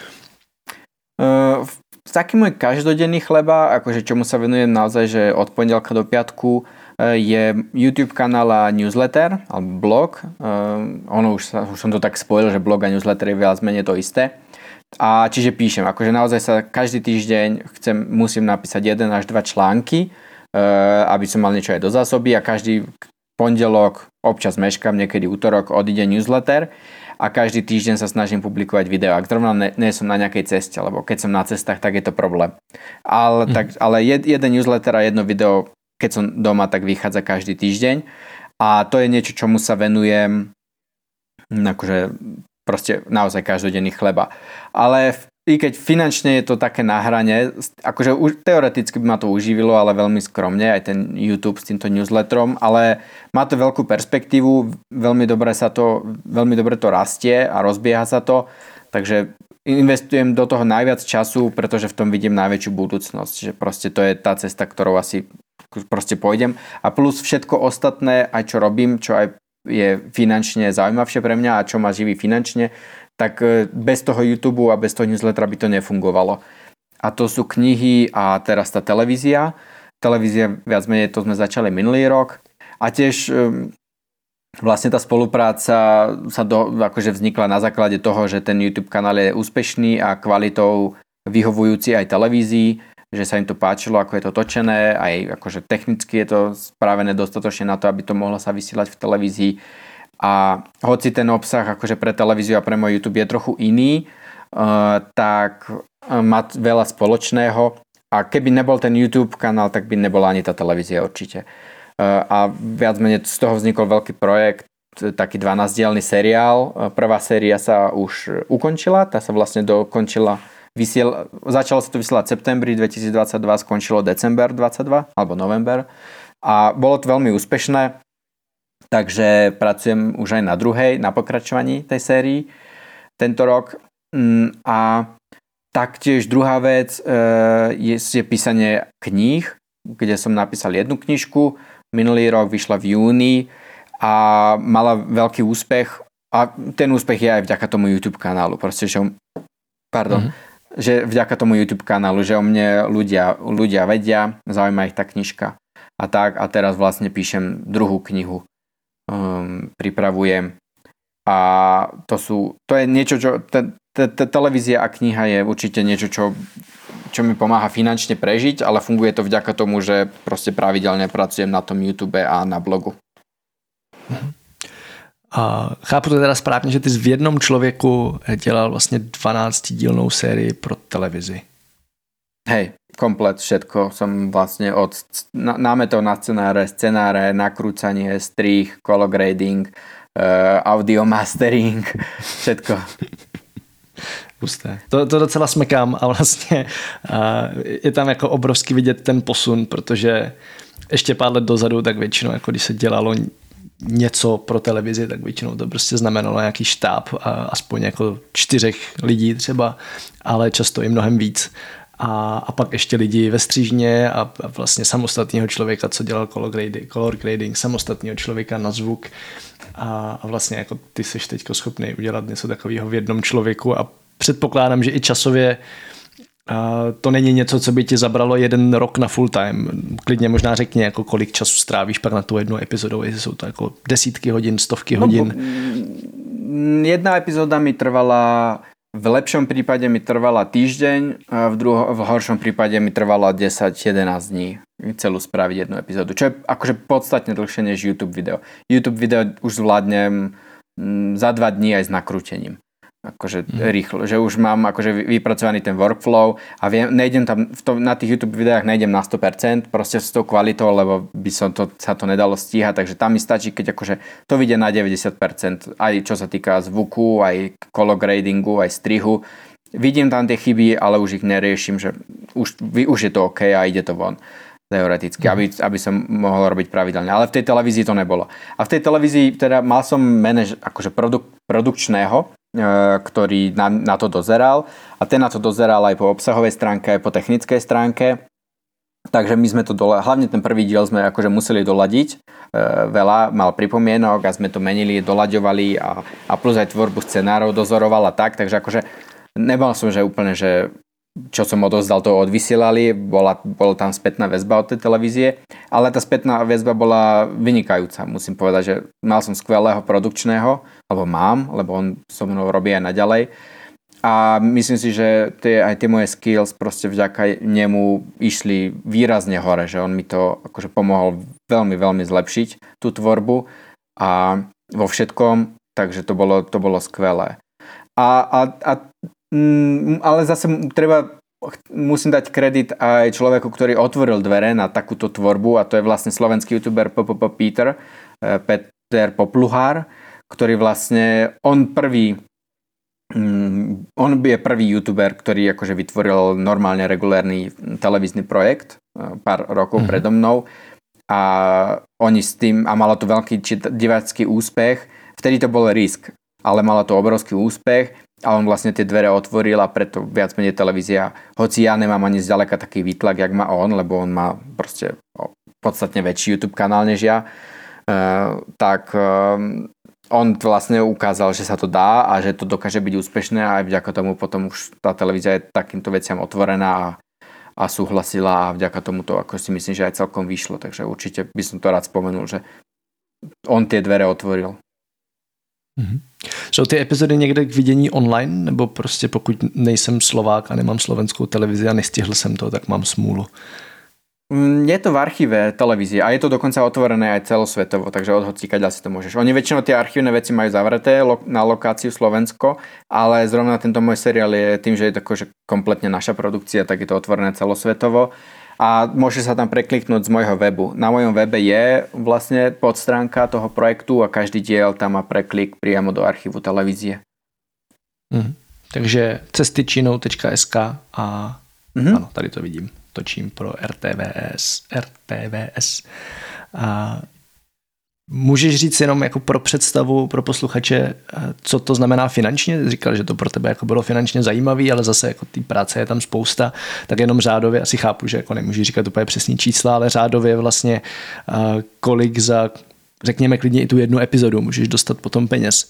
Taký môj každodenný chleba, akože čomu sa venujem naozaj, že od pondelka do piatku je YouTube kanál a newsletter, alebo blog. Už som to tak spojil, že blog a newsletter je viac menej to isté. A čiže píšem, akože naozaj sa každý týždeň musím napísať 1 až 2 články, aby som mal niečo aj do zásoby a každý pondelok, občas meškam, niekedy útorok odíde newsletter a každý týždeň sa snažím publikovať video. Ak zrovna nie som na nejakej ceste, lebo keď som na cestách, tak je to problém. Ale jeden newsletter a jedno video, keď som doma, tak vychádza každý týždeň a to je niečo, čomu sa venujem akože proste naozaj každodenný chleba. Ale i keď finančne je to také na hrane, akože teoreticky by ma to uživilo, ale veľmi skromne, aj ten YouTube s týmto newsletterom, ale má to veľkú perspektívu, veľmi dobre to rastie a rozbieha sa to, takže investujem do toho najviac času, pretože v tom vidím najväčšiu budúcnosť, že proste to je tá cesta, ktorou asi proste pôjdem a plus všetko ostatné, aj čo robím, čo aj je finančne zaujímavšie pre mňa a čo ma živí finančne, tak bez toho YouTube a bez toho newslettera by to nefungovalo. A to sú knihy a teraz tá televízia. Televízia viac menej to sme začali minulý rok a tiež vlastne tá spolupráca akože vznikla na základe toho, že ten YouTube kanál je úspešný a kvalitou vyhovujúci aj televízii, že sa im to páčilo, ako je to točené, aj akože technicky je to spravené dostatočne na to, aby to mohlo sa vysielať v televízii. A hoci ten obsah akože pre televíziu a pre môj YouTube je trochu iný, tak má veľa spoločného a keby nebol ten YouTube kanál, tak by nebola ani tá televízia určite. A viac menej z toho vznikol veľký projekt, taký 12-dielny seriál. Prvá séria sa už ukončila, tá sa vlastne dokončila, začalo sa to vysielať v septembri 2022, skončilo december 22 alebo november a bolo to veľmi úspešné, takže pracujem už aj na druhej, na pokračovaní tej sérii tento rok. A taktiež druhá vec je písanie kníh, kde som napísal jednu knižku, minulý rok vyšla v júni a mala veľký úspech a ten úspech je aj vďaka tomu YouTube kanálu. Proste, že vďaka tomu YouTube kanálu, že o mne ľudia vedia, zaujíma ich tá knižka a tak. A teraz vlastne píšem druhú knihu, pripravujem a to je niečo, čo televízia a kniha je určite niečo, čo mi pomáha finančne prežiť, ale funguje to vďaka tomu, že proste pravidelne pracujem na tom YouTube a na blogu. A chápu to teda správně, že ty jsi v jednom člověku dělal vlastně 12-dílnou sérii pro televizi. Hej, komplet všetko som vlastne od námetov na scenáre, nakrúcanie, strih, color grading, audio mastering, všetko. Pusté. To docela smekám a vlastně je tam jako obrovský vidět ten posun, protože ještě pár let dozadu, tak většinou, jako když se dělalo něco pro televizi, tak většinou to prostě znamenalo nějaký štáb, aspoň jako 4 lidí třeba, ale často i mnohem víc. A pak ještě lidi ve střížně a vlastně samostatného člověka, co dělal color grading, samostatného člověka na zvuk a vlastně jako ty jsi teďko schopný udělat něco takového v jednom člověku a předpokládám, že i časově to není něco, co by ti zabralo 1 rok na full time. Klidně možná řekni, jako kolik času strávíš pak na tu jednu epizodou, jestli jsou to jako desítky hodin, stovky hodin. Jedna epizóda mi trvala, v lepšom prípade mi trvala týždeň, v horšom prípade mi trvalo 10-11 dní celú spraviť jednu epizódu, čo je akože podstatne dlhšie než YouTube video. YouTube video už zvládnem za 2 dní aj s nakrútením. Akože rýchlo, že už mám akože vypracovaný ten workflow a nejdem tam, na tých YouTube videách nejdem na 100%, proste s tou kvalitou, lebo by sa to nedalo stíhať, takže tam mi stačí, keď akože to vyjde na 90%, aj čo sa týka zvuku, aj color gradingu, aj strihu. Vidím tam tie chyby, ale už ich neriešim, že už je to OK a ide to von. Teoreticky, aby som mohol robiť pravidelne. Ale v tej televízii to nebolo. A v tej televízii teda mal som akože produkčného, ktorý na to dozeral a ten na to dozeral aj po obsahovej stránke, aj po technickej stránke. Takže my sme to hlavne ten prvý diel sme akože museli doladiť. Veľa mal pripomienok a sme to menili, dolaďovali a plus aj tvorbu scenárov dozoroval a tak. Takže akože nebol som, že úplne, že čo som odozdal, to odvysielali, bol tam spätná väzba od tej televízie, ale tá spätná väzba bola vynikajúca, musím povedať, že mal som skvelého produkčného, alebo mám, lebo on so mnou robí aj naďalej a myslím si, že aj tie moje skills proste vďaka nemu išli výrazne hore, že on mi to akože pomohol veľmi, veľmi zlepšiť tú tvorbu a vo všetkom, takže to bolo skvelé. Ale zase musím dať kredit aj človeku, ktorý otvoril dvere na takúto tvorbu a to je vlastne slovenský youtuber Peter Popluhár, ktorý vlastne on je prvý youtuber, ktorý akože vytvoril normálne regulárny televízny projekt pár rokov predo mnou a oni s tým, a malo to veľký divácky úspech, vtedy to bol risk, ale malo to obrovský úspech a on vlastne tie dvere otvoril a preto viac menej televízia, hoci ja nemám ani zďaleka taký výtlak, jak má on, lebo on má proste podstatne väčší YouTube kanál než ja, tak on vlastne ukázal, že sa to dá a že to dokáže byť úspešné a aj vďaka tomu potom už tá televízia je takýmto veciam otvorená a súhlasila a vďaka tomu to ako si myslím, že aj celkom vyšlo, takže určite by som to rád spomenul, že on tie dvere otvoril. Jsou ty epizody někde k vidění online, nebo prostě pokud nejsem Slovák a nemám slovenskou televizi a nestihl jsem to, tak mám smůlu? Je to v archíve televízie a je to dokonca otvorené aj celosvetovo, takže od hocikaďa si to môžeš. Oni väčšinou tie archívne veci majú zavreté na lokáciu Slovensko, ale zrovna tento môj seriál je tým, že je to akože kompletne naša produkcia, tak je to otvorené celosvetovo a môže sa tam prekliknúť z môjho webu. Na mojom webe je vlastne podstránka toho projektu a každý diel tam má preklik priamo do archívu televízie. Takže cestyčinou.sk a ano, tady to vidím. Točím pro RTVS. A můžeš říct jenom jako pro představu, pro posluchače, co to znamená finančně? Říkal, že to pro tebe jako bylo finančně zajímavý, ale zase jako té práce je tam spousta, tak jenom řádově, asi chápu, že jako nemůžu říkat úplně přesný čísla, ale řádově vlastně kolik za, řekněme klidně i tu jednu epizodu můžeš dostat potom peněz.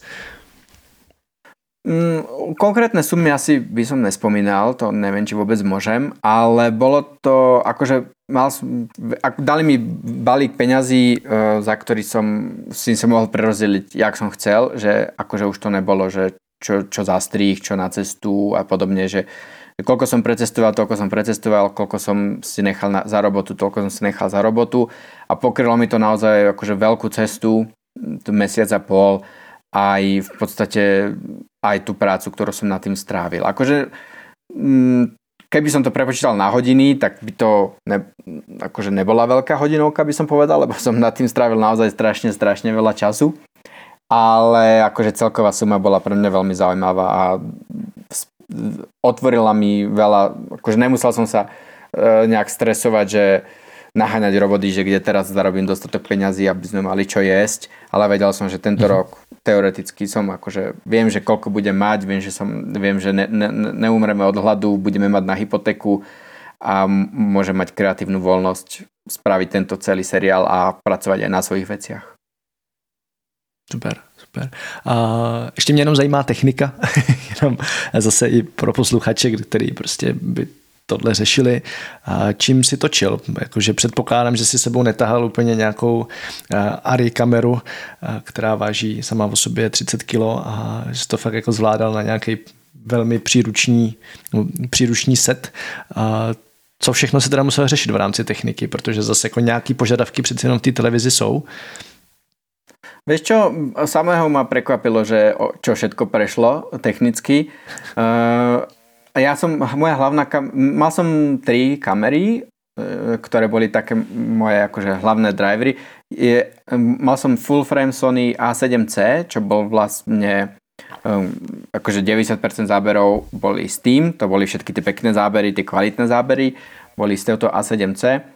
Konkrétne sumy asi by som nespomínal, to neviem, či vôbec môžem, ale bolo to, akože dali mi balík peňazí, za ktorý som si sa mohol prerozdeliť, jak som chcel, že akože už to nebolo, že čo za strih, čo na cestu a podobne, že koľko som precestoval, toľko som precestoval, koľko som si nechal za robotu, toľko som si nechal za robotu a pokrylo mi to naozaj akože veľkú cestu, mesiac a pol, aj v podstate aj tú prácu, ktorú som nad tým strávil. Akože keby som to prepočítal na hodiny, tak by to akože nebola veľká hodinovka, by som povedal, lebo som nad tým strávil naozaj strašne veľa času. Ale akože celková suma bola pre mňa veľmi zaujímavá a otvorila mi veľa, akože nemusel som sa nejak stresovať, že naháňať roboty, že kde teraz zarobím dostatok peňazí, aby sme mali čo jesť, ale vedel som, že tento rok teoreticky som akože viem, že koľko budem mať, viem, že neumreme od hladu, budeme mať na hypotéku a môžem mať kreatívnu voľnosť spraviť tento celý seriál a pracovať aj na svojich veciach. Super. A ještě mě jenom zajímá technika, jenom zase i pro posluchače, který prostě by tohle řešili. Čím si točil? Jakože předpokládám, že si sebou netahal úplně nějakou ARRI kameru, která váží sama o sobě 30 kg a že to fakt jako zvládal na nějaký velmi příruční set. Co všechno se teda musel řešit v rámci techniky, protože zase jako nějaký požadavky přeci jenom v té televizi jsou. Vieš čo, samého ma prekvapilo, že čo všetko prešlo technicky. Mal som 3 kamery, ktoré boli také moje akože hlavné drivery. Mal som full frame Sony A7C, čo bol vlastne akože 90% záberov boli s tým, to boli všetky tie pekné zábery, tie kvalitné zábery, boli z tohto A7C.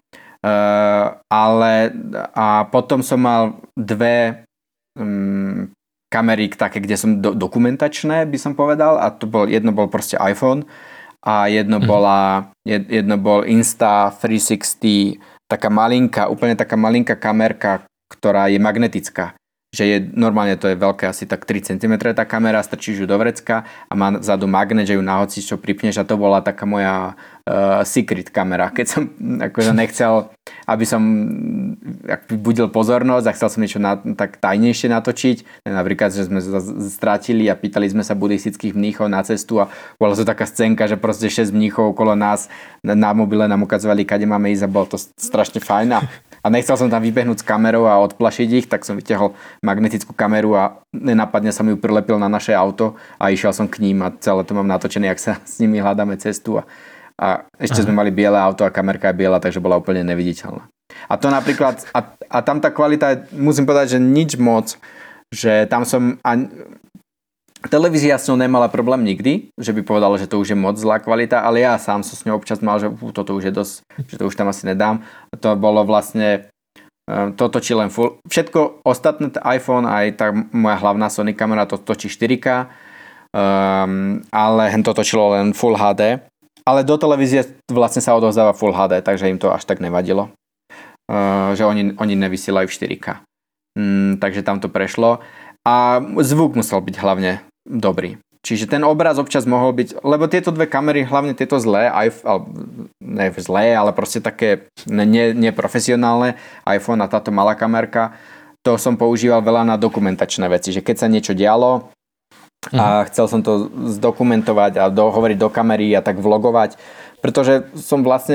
A potom som mal 2 kamery také, kde som dokumentačné, by som povedal, a jedno bol proste iPhone a jedno bol Insta360, úplne taká malinká kamerka, ktorá je magnetická. Že normálne to je veľké, asi tak 3 cm tá kamera, strčíš ju do vrecka a má vzadu magnet, že ju na hoci čo pripneš a to bola taká moja secret kamera. Keď som akože nechcel, aby som budil pozornosť a chcel som niečo tak tajnejšie natočiť. Napríklad, že sme strátili a pýtali sme sa buddhistických mníchov na cestu a bola to taká scénka, že proste 6 mníchov okolo nás na mobile nám ukazovali, kade máme ísť a bolo to strašne fajn. A nechcel som tam vybehnúť s kamerou a odplašiť ich, tak som vytiahol magnetickú kameru a nenápadne som ju prilepil na naše auto a išiel som k ním a celé to mám natočené, jak sa s nimi hľadáme cestu a ešte sme mali biele auto a kamerka je biela, takže bola úplne neviditeľná. A to napríklad, a tam tá kvalita, musím povedať, že nič moc, že tam som, televízia s ňou nemala problém nikdy, že by povedala, že to už je moc zlá kvalita, ale ja sám som s ňou občas mal, že toto už je dosť, že to už tam asi nedám. To bolo vlastne, to točí len full, všetko ostatné, iPhone, aj tá moja hlavná Sony kamera, to točí 4K, ale to točilo len Full HD. Ale do televízie vlastne sa odovzdáva Full HD, takže im to až tak nevadilo. Že oni nevysielajú v 4K. Takže tam to prešlo. A zvuk musel byť hlavne dobrý. Čiže ten obraz občas mohol byť, lebo tieto 2 kamery, hlavne tieto zlé, ne zlé, ale proste také neprofesionálne iPhone a táto malá kamerka, to som používal veľa na dokumentačné veci, že keď sa niečo dialo, a chcel som to zdokumentovať a hovoriť do kamery a tak vlogovať, pretože som vlastne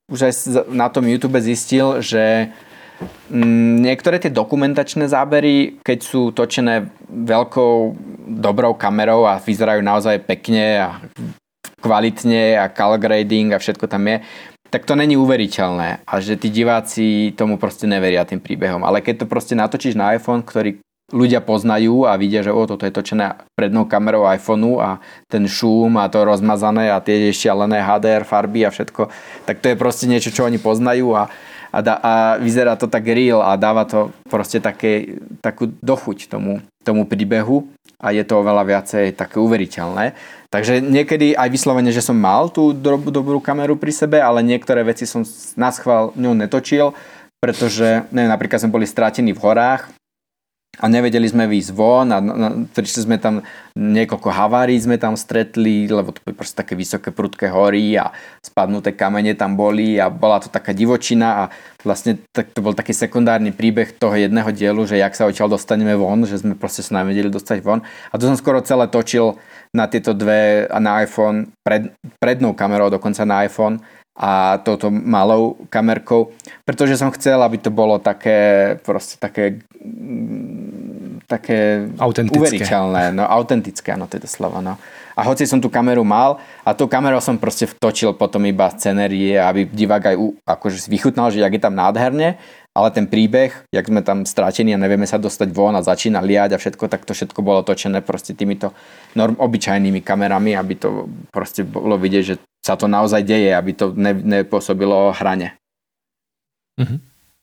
už aj na tom YouTube zistil, že niektoré tie dokumentačné zábery, keď sú točené veľkou, dobrou kamerou a vyzerajú naozaj pekne a kvalitne a color grading a všetko tam je, tak to není uveriteľné a že tí diváci tomu proste neveria tým príbehom. Ale keď to proste natočíš na iPhone, ktorý ľudia poznajú a vidia, že toto je točené prednou kamerou iPhoneu a ten šum a to rozmazané a tie šialené HDR farby a všetko, tak to je proste niečo, čo oni poznajú a vyzerá to tak real a dáva to proste takú dochuť tomu príbehu a je to oveľa viacej také uveriteľné. Takže niekedy aj vyslovene, že som mal tú dobrú kameru pri sebe, ale niektoré veci som naschvál ňou netočil, pretože napríklad sme boli strátení v horách a nevedeli sme výjsť von a prišli sme tam, niekoľko havárií sme tam stretli, lebo to boli proste také vysoké prudké hory a spadnuté kamene tam boli a bola to taká divočina a vlastne to bol taký sekundárny príbeh toho jedného dielu, že jak sa odtiaľ dostaneme von, že sme proste sa nevedeli dostať von a to som skoro celé točil na tieto dve na iPhone, prednou kamerou dokonca na iPhone a touto malou kamerkou, pretože som chcel, aby to bolo také proste také uveriteľné, autentické, to je to slovo, A hoci som tú kameru mal a tou kamerou som proste vtočil potom iba scenérie, aby divák aj akože vychutnal, že jak je tam nádherne, ale ten príbeh, jak sme tam strátení a nevieme sa dostať von a začína liať a všetko, tak to všetko bolo točené proste týmito obyčajnými kamerami, aby to proste bolo vidieť, že sa to naozaj deje, aby to nepôsobilo hraně. Mm-hmm.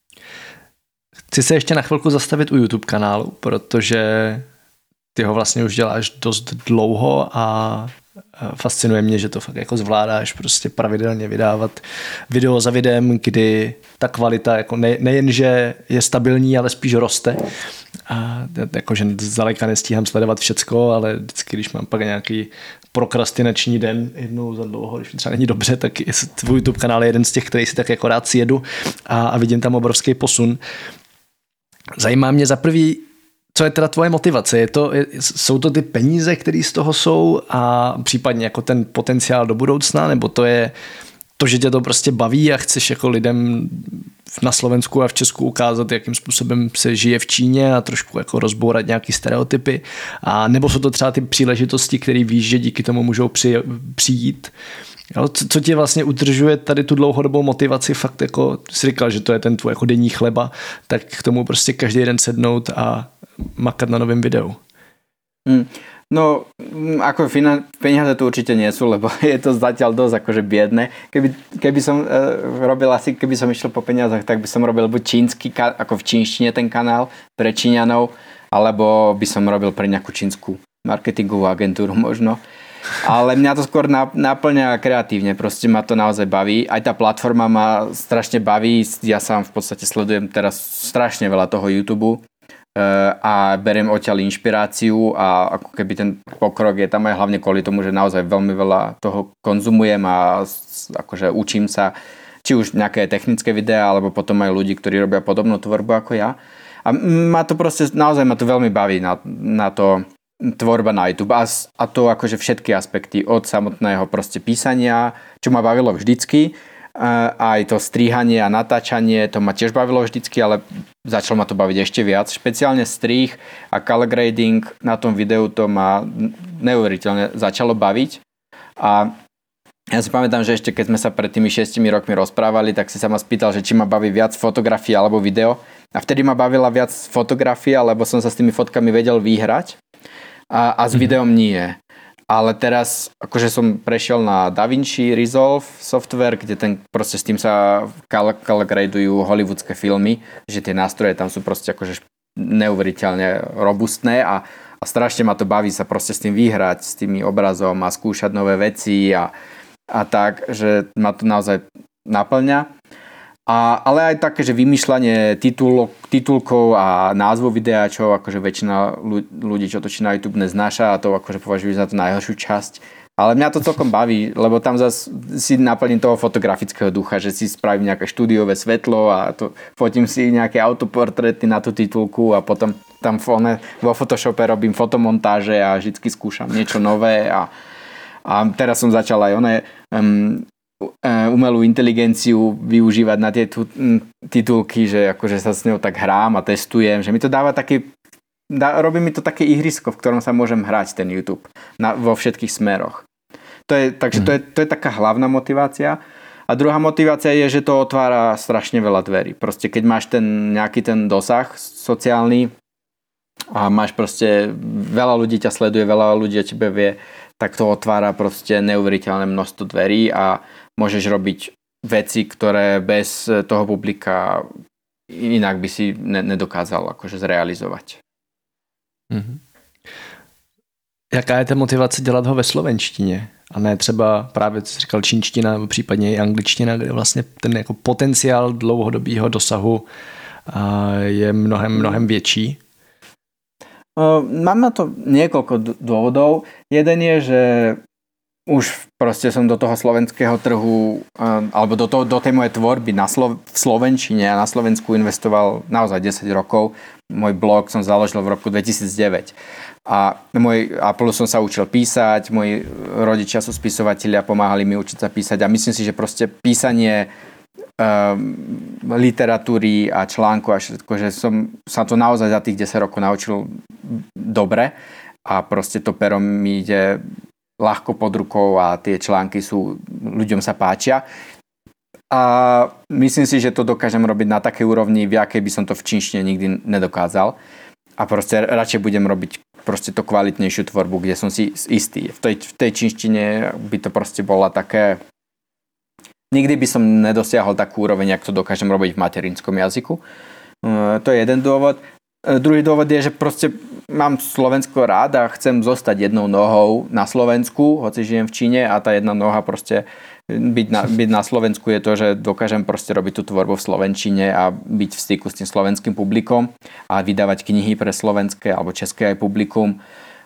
Chci se ještě na chvilku zastavit u YouTube kanálu, protože ty ho vlastně už děláš dost dlouho a fascinuje mě, že to fakt jako zvládáš prostě pravidelně vydávat video za videem, kdy ta kvalita jako nejen, že je stabilní, ale spíš roste. A jakože zdaleka nestíhám sledovat všecko, ale vždycky, když mám pak nějaký prokrastinační den jednou za dlouho, když mi třeba není dobře, tak tvůj YouTube kanál je jeden z těch, který si tak jako rád sjedu a vidím tam obrovský posun. Zajímá mě za prvý, co je teda tvoje motivace? Jsou to ty peníze, které z toho jsou a případně jako ten potenciál do budoucna, nebo to je to, že tě to prostě baví a chceš jako lidem na Slovensku a v Česku ukázat, jakým způsobem se žije v Číně a trošku jako rozbourat nějaký stereotypy, a nebo jsou to třeba ty příležitosti, které víš, že díky tomu můžou přijít. Jo, co tě vlastně udržuje tady tu dlouhodobou motivaci, fakt jako jsi říkal, že to je ten tvůj jako denní chleba, tak k tomu prostě každý den sednout a makat na novém videu. No, ako peniaze tu určite nie sú, lebo je to zatiaľ dosť akože biedne. Keby som robil asi, keby som išiel po peniazoch, tak by som robil buď čínsky, ako v čínštine ten kanál pre Číňanov, alebo by som robil pre nejakú čínsku marketingovú agentúru možno. Ale mňa to skôr naplňa kreatívne, proste ma to naozaj baví. Aj tá platforma ma strašne baví, ja sám v podstate sledujem teraz strašne veľa toho YouTube a beriem odtiaľ inšpiráciu a ako keby ten pokrok je tam aj hlavne kvôli tomu, že naozaj veľmi veľa toho konzumujem a akože učím sa, či už nejaké technické videá, alebo potom aj ľudí, ktorí robia podobnú tvorbu ako ja. A ma to proste, naozaj ma to veľmi baví na to tvorba na YouTube a to akože všetky aspekty od samotného proste písania, čo ma bavilo vždycky, aj to strihanie a natáčanie, to ma tiež bavilo vždycky, ale začalo ma to baviť ešte viac. Špeciálne strih a color grading na tom videu, to ma neuveriteľne začalo baviť. A ja si pamätám, že ešte keď sme sa pred tými 6 rokmi rozprávali, tak si sa ma spýtal, že či ma baví viac fotografia alebo video. A vtedy ma bavila viac fotografia, lebo som sa s tými fotkami vedel vyhrať a s videom nie. Ale teraz akože som prešiel na DaVinci Resolve software, kde proste s tým sa color gradujú hollywoodske filmy, že tie nástroje tam sú proste akože neuveriteľne robustné a strašne ma to baví sa proste s tým vyhrať, s tými obrazom a skúšať nové veci a tak, že ma to naozaj naplňa. Ale aj také, že vymýšľanie titulkov a názvu videa, čo akože väčšina ľudí, čo točí na YouTube, neznáša a to akože považujú za tú najhoršiu časť. Ale mňa to celkom baví, lebo tam zase si naplním toho fotografického ducha, že si spravím nejaké štúdiové svetlo a to fotím si nejaké autoportréty na tú titulku a potom tam vo Photoshope robím fotomontáže a vždycky skúšam niečo nové a teraz som začal aj umelú inteligenciu využívať na tie titulky, že akože sa s ňou tak hrám a testujem, že mi to dáva robí mi to také ihrisko, v ktorom sa môžem hrať ten YouTube vo všetkých smeroch. Takže to je taká hlavná motivácia. A druhá motivácia je, že to otvára strašne veľa dverí. Proste keď máš nejaký ten dosah sociálny a máš proste veľa ľudí ťa sleduje, veľa ľudí o tebe vie, tak to otvára proste neuveriteľné množstvo dverí a môžeš robiť veci, ktoré bez toho publika inak by si nedokázal akože zrealizovať. Mm-hmm. Jaká je ta motivace dělat ho ve slovenštině? A ne třeba právě, co jsi říkal, čínština, nebo případně i angličtina, kde vlastně ten jako potenciál dlouhodobého dosahu je mnohem větší? Mám na to niekoľko dôvodov. Jeden je, že už proste som do toho slovenského trhu alebo do tej mojej tvorby v slovenčine a na Slovensku investoval naozaj 10 rokov. Môj blog som založil v roku 2009. A plus som sa učil písať, moji rodičia sú spisovatelia, pomáhali mi učiť sa písať a myslím si, že proste písanie literatúry a článku a všetko, že som sa to naozaj za tých 10 rokov naučil dobre a proste to pero mi ide ľahko pod rukou a tie články ľuďom sa páčia. A myslím si, že to dokážem robiť na takej úrovni, v akej by som to v čínštine nikdy nedokázal. A proste radšej budem robiť proste to kvalitnejšiu tvorbu, kde som si istý. V tej čínštine by to proste bola také... Nikdy by som nedosiahol takú úroveň, jak to dokážem robiť v materinskom jazyku. To je jeden dôvod. Druhý dôvod je, že proste mám Slovensko rád a chcem zostať jednou nohou na Slovensku, hoci žijem v Číne a tá jedna noha proste byť na Slovensku je to, že dokážem proste robiť tú tvorbu v slovenčine a byť v styku s tým slovenským publikom a vydávať knihy pre slovenské alebo české aj publikum.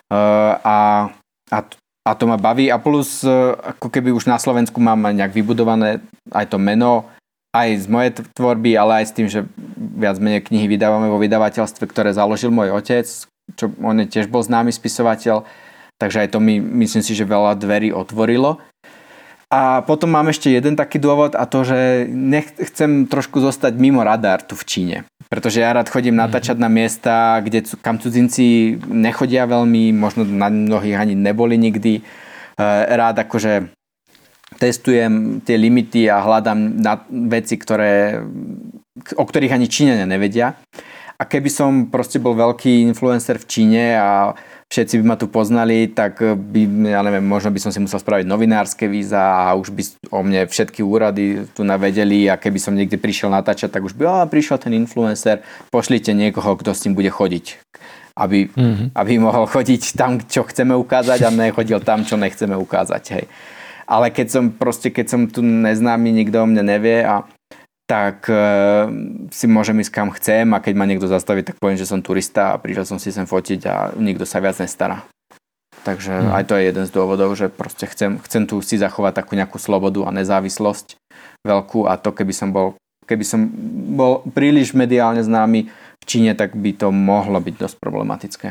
A to ma baví a plus ako keby už na Slovensku mám nejak vybudované aj to meno, aj z mojej tvorby, ale aj s tým, že viac menej knihy vydávame vo vydavateľstve, ktoré založil môj otec, čo on tiež bol známy spisovateľ, takže aj to mi myslím si, že veľa dverí otvorilo. A potom mám ešte jeden taký dôvod a to, že chcem trošku zostať mimo radar tu v Číne. Pretože ja rád chodím natáčať na miesta, kam cudzinci nechodia veľmi, možno na mnohých ani neboli nikdy. Rád akože testujem tie limity a hľadám veci, o ktorých ani Číňania nevedia. A keby som proste bol veľký influencer v Číne a všetci by ma tu poznali, tak ja neviem, možno by som si musel spraviť novinárske víza a už by o mne všetky úrady tu navedeli a keby som niekde prišiel natáčať, tak už by prišiel ten influencer, pošlite niekoho, kto s tým bude chodiť. Aby mohol chodiť tam, čo chceme ukázať a nechodil tam, čo nechceme ukázať. Hej. Ale keď som tu neznámy, nikto o mne nevie tak si môžem ísť kam chcem a keď ma niekto zastaví, tak poviem, že som turista a prišiel som si sem fotiť a nikto sa viac nestará. Takže aj to je jeden z dôvodov, že proste chcem tu si zachovať takú nejakú slobodu a nezávislosť veľkú a to keby som bol príliš mediálne známy v Číne, tak by to mohlo byť dosť problematické.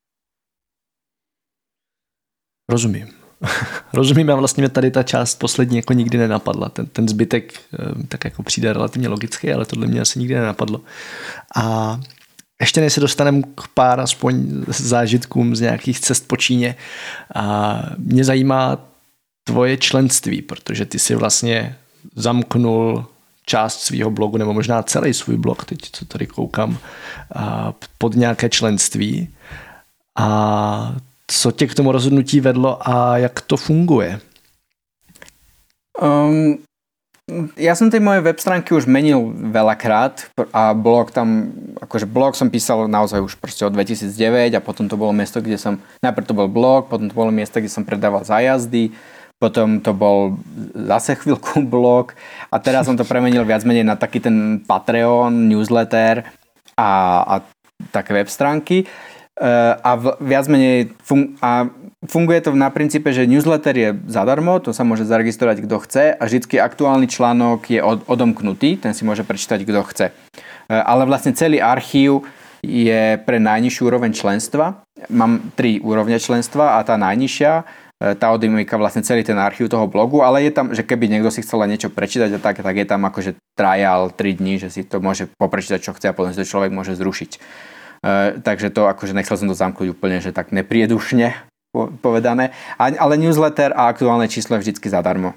Rozumím. Rozumím a vlastně mě tady ta část poslední jako nikdy nenapadla. Ten zbytek tak jako přijde relativně logicky, ale tohle mě asi nikdy nenapadlo. A ještě než se dostaneme k pár aspoň zážitkům z nějakých cest po Číně, a mě zajímá tvoje členství, protože ty si vlastně zamknul část svého blogu, nebo možná celý svůj blog, teď co tady koukám, pod nějaké členství. A co tě k tomu rozhodnutí vedlo a jak to funguje? Ja som tej moje web stránky už menil veľakrát a blog som písal naozaj už proste od 2009 a potom to bolo miesto, kde som, najprv to bol blog, potom to bolo miesto, kde som predával zájazdy, potom to bol zase chvíľku blog a teraz som to premenil viac menej na taký ten Patreon, newsletter a také web stránky. A viac menej funguje to na princípe, že newsletter je zadarmo, to sa môže zaregistrovať kto chce a vždycky aktuálny článok je odomknutý, ten si môže prečítať kto chce. Ale vlastne celý archív je pre najnižšiu úroveň členstva. Mám 3 úrovne členstva a tá najnižšia tá Audimika vlastne celý ten archív toho blogu, ale je tam, že keby niekto si chcel niečo prečítať a tak je tam akože trial 3 dní, že si to môže poprečítať, čo chce a potom si to človek môže zrušiť. Takže to akože nechcel som to zamknúť úplne, že tak nepriedušne povedané. Ale newsletter a aktuálne číslo je vždycky zadarmo.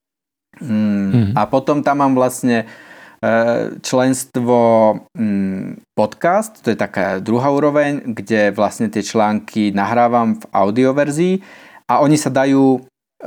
A potom tam mám vlastne členstvo podcast, to je taká druhá úroveň, kde vlastne tie články nahrávam v audioverzii a oni sa dajú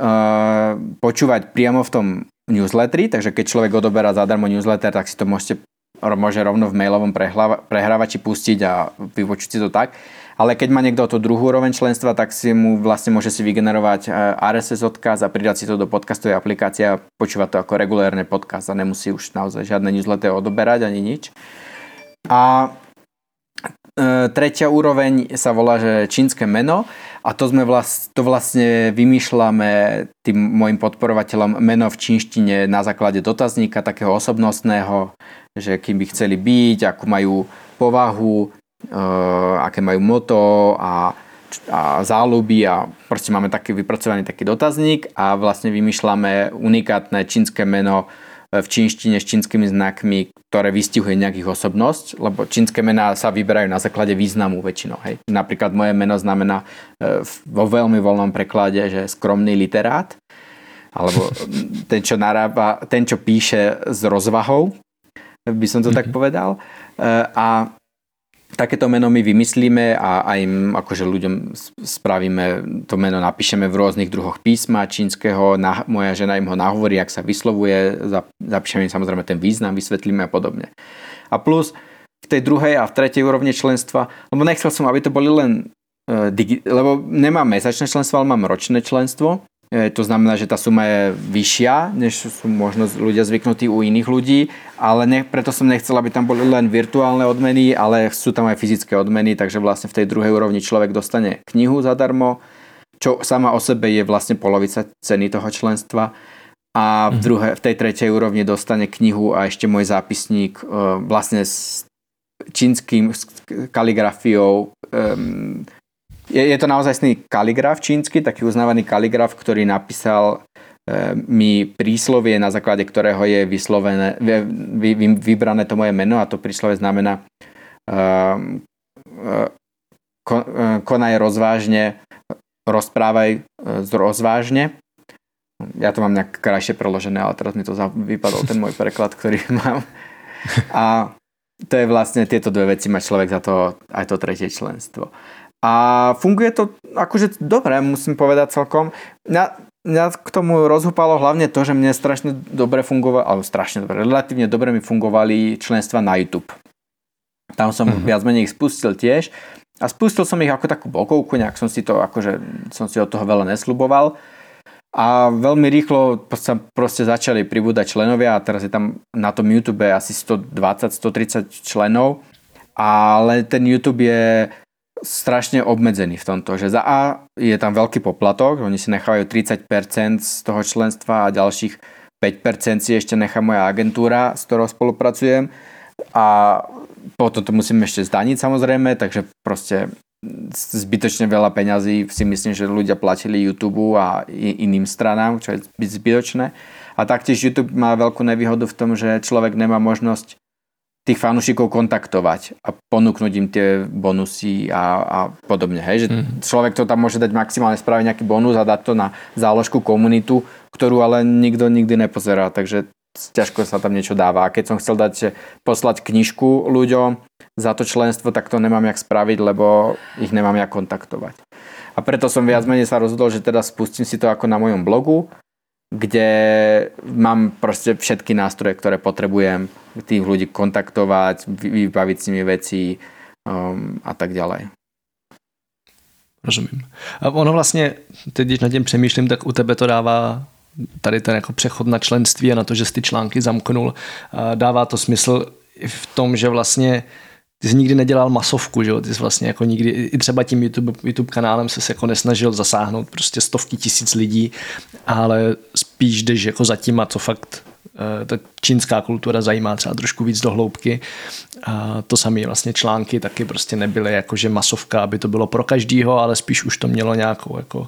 počúvať priamo v tom newsletteri, takže keď človek odoberá zadarmo newsletter, tak si to môže rovno v mailovom prehrávači pustiť a vypočuť si to tak. Ale keď má niekto tú druhú úroveň členstva, tak si mu vlastne môže si vygenerovať RSS odkaz a pridať si to do podcastovej aplikácie a počúvať to ako regulérne podcast a nemusí už naozaj žiadne newsletter odoberať ani nič. A tretia úroveň sa volá, že čínske meno a to vlastne vymýšľame tým mojim podporovateľom meno v čínštine na základe dotazníka takého osobnostného, že kým by chceli byť, akú majú povahu, aké majú moto a záľuby a proste máme taký vypracovaný taký dotazník a vlastne vymýšľame unikátne čínske meno v čínštine s čínskymi znakmi, ktoré vystihuje nejakých osobnosť, lebo čínske mená sa vyberajú na základe významu väčšinou. Hej. Napríklad moje meno znamená vo veľmi voľnom preklade, že skromný literát, alebo ten, čo narába, ten, čo píše s rozvahou, by som to tak povedal. A takéto meno my vymyslíme a im akože ľuďom spravíme to meno, napíšeme v rôznych druhoch písma čínskeho, moja žena im ho nahovorí, ak sa vyslovuje, zapíšeme im samozrejme ten význam, vysvetlíme a podobne. A plus v tej druhej a v tretej úrovni členstva, lebo nechcel som, aby to boli len lebo nemám mesačné členstvo, ale mám ročné členstvo. To znamená, že tá suma je vyššia, než sú možno ľudia zvyknutí u iných ľudí, ale preto som nechcel, aby tam boli len virtuálne odmeny, ale sú tam aj fyzické odmeny, takže vlastne v tej druhej úrovni človek dostane knihu zadarmo, čo sama o sebe je vlastne polovica ceny toho členstva a v tej tretej úrovni dostane knihu a ešte môj zápisník vlastne s čínskym kaligrafiou. Je to naozajstný kaligraf čínsky, taký uznávaný kaligraf, ktorý napísal mi príslovie, na základe ktorého je vyslovené, vybrané to moje meno a to príslovie znamená konaj rozvážne, rozprávaj rozvážne. Ja to mám nejak krajšie preložené, ale teraz mi to vypadol ten môj preklad, ktorý mám. A to je vlastne tieto dve veci, má človek za to aj to tretie členstvo. A funguje to akože dobre, musím povedať celkom. Mňa k tomu rozhúpalo hlavne to, že mne strašne dobre fungovalo, alebo strašne dobre, relatívne dobre mi fungovali členstva na YouTube. Tam som viac menej ich spustil tiež a spustil som ich ako takú bokovku, nejak som si od toho veľa nesľuboval. A veľmi rýchlo sa proste začali pribúdať členovia a teraz je tam na tom YouTube asi 120-130 členov, ale ten YouTube je strašne obmedzený v tomto, že za A je tam veľký poplatok, oni si nechávajú 30% z toho členstva a ďalších 5% si ešte nechá moja agentúra, s ktorou spolupracujem a potom to musím ešte zdaniť samozrejme, takže proste zbytočne veľa peňazí si myslím, že ľudia platili YouTube a iným stranám, čo je zbytočné. A taktiež YouTube má veľkú nevýhodu v tom, že človek nemá možnosť tých fanúšikov kontaktovať a ponúknuť im tie bonusy a podobne. Hej? Že človek to tam môže dať maximálne spraviť nejaký bonus a dať to na záložku komunitu, ktorú ale nikto nikdy nepozerá, takže ťažko sa tam niečo dáva. A keď som chcel poslať knižku ľuďom za to členstvo, tak to nemám jak spraviť, lebo ich nemám jak kontaktovať. A preto som viac menej sa rozhodol, že teda spustím si to ako na mojom blogu, kde mám proste všetky nástroje, ktoré potrebujem tých ľudí kontaktovať, vybaviť s nimi veci a tak ďalej. Rozumím. A ono vlastně, teď když nad tím přemýšlím, tak u tebe to dává tady ten jako přechod na členství a na to, že jsi ty články zamknul. Dává to smysl i v tom, že vlastně ty jsi nikdy nedělal masovku, že jo? Ty jsi vlastně jako nikdy, i třeba tím YouTube kanálem se jako nesnažil zasáhnout prostě stovky tisíc lidí, ale spíš jdeš jako za tím a co fakt ta čínská kultura zajímá třeba trošku víc do hloubky. A to samé vlastně články taky prostě nebyly jakože masovka, aby to bylo pro každýho, ale spíš už to mělo nějakou jako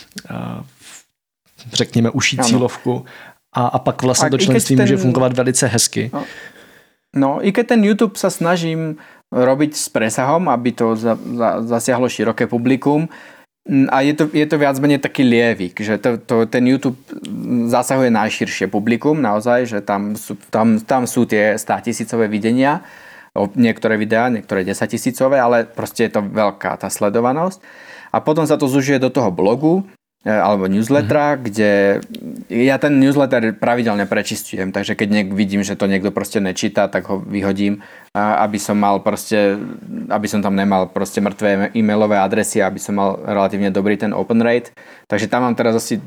řekněme uší cílovku. A pak vlastně to členství může fungovat velice hezky. No, i keď ten YouTube sa snažím robiť s presahom, aby to zasiahlo široké publikum, a je to viac menej taký lievik, že ten YouTube zasahuje najširšie publikum, naozaj, že tam sú tie 100 000 videnia, niektoré videá, niektoré 10 000, ale proste je to veľká tá sledovanosť. A potom sa to zužuje do toho blogu, alebo newslettera, kde ja ten newsletter pravidelne prečistujem, takže keď vidím, že to niekto proste nečíta, tak ho vyhodím, aby som tam nemal proste mŕtve e-mailové adresy, aby som mal relatívne dobrý ten open rate. Takže tam mám teraz asi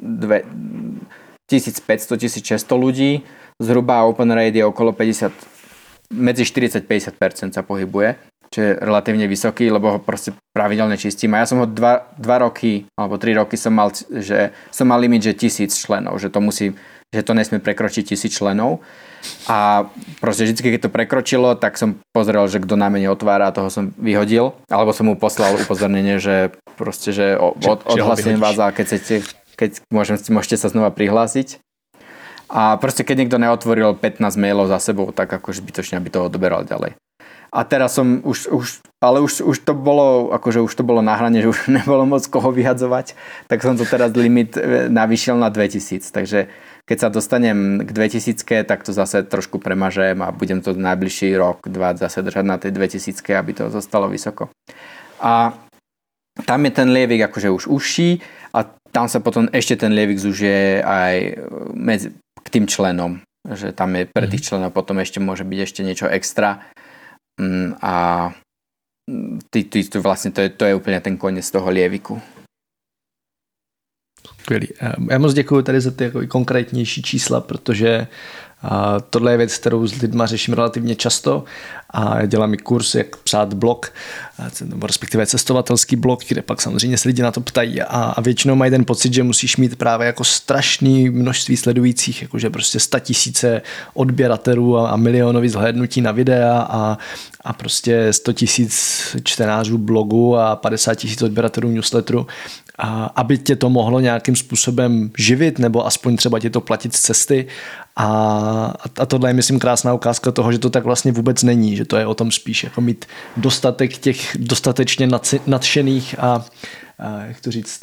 1500-1600 ľudí, zhruba open rate je okolo 50, medzi 40-50% sa pohybuje, čo je relatívne vysoký, lebo ho proste pravidelne čistím. A ja som ho 2 roky, alebo 3 roky som mal limit, že 1000 členov, že to nesmie prekročiť 1000 členov. A proste vždy, keď to prekročilo, tak som pozrel, že kto na mene otvára, toho som vyhodil, alebo som mu poslal upozornenie, že proste, že odhlasujem vás a keď môžete sa znova prihlásiť. A proste, keď niekto neotvoril 15 mailov za sebou, tak ako zbytočne, aby to odoberal ďalej. A teraz som už to bolo, akože už to bolo na hrane, že už nebolo moc koho vyhadzovať, tak som to teraz limit navýšil na 2000. Takže keď sa dostanem k 2000, tak to zase trošku premažem a budem to najbližší rok, 2 zase držať na tej 2000, aby to zostalo vysoko. A tam je ten lievik akože už užší a tam sa potom ešte ten lievik zužije aj k tým členom. Že tam je pre tých členov potom ešte môže byť ešte niečo extra. A vlastne to je úplně ten konec toho lieviku. Skvělý. Já moc děkuji tady za ty jako konkrétnější čísla, protože tohle je věc, kterou s lidma řeším relativně často a dělám i kurz, jak psát blog, respektive cestovatelský blog, kde pak samozřejmě se lidi na to ptají a většinou mají ten pocit, že musíš mít právě jako strašný množství sledujících, jakože prostě 100 000 odběratelů a milionový zhlédnutí na videa a prostě 100 000 čtenářů blogu a 50 000 odběratelů newsletteru, aby tě to mohlo nějakým způsobem živit nebo aspoň třeba tě to platit z cesty. A tohle je, myslím, krásná ukázka toho, že to tak vlastně vůbec není, že to je o tom spíš jako mít dostatek těch dostatečně nadšených a jak to říct,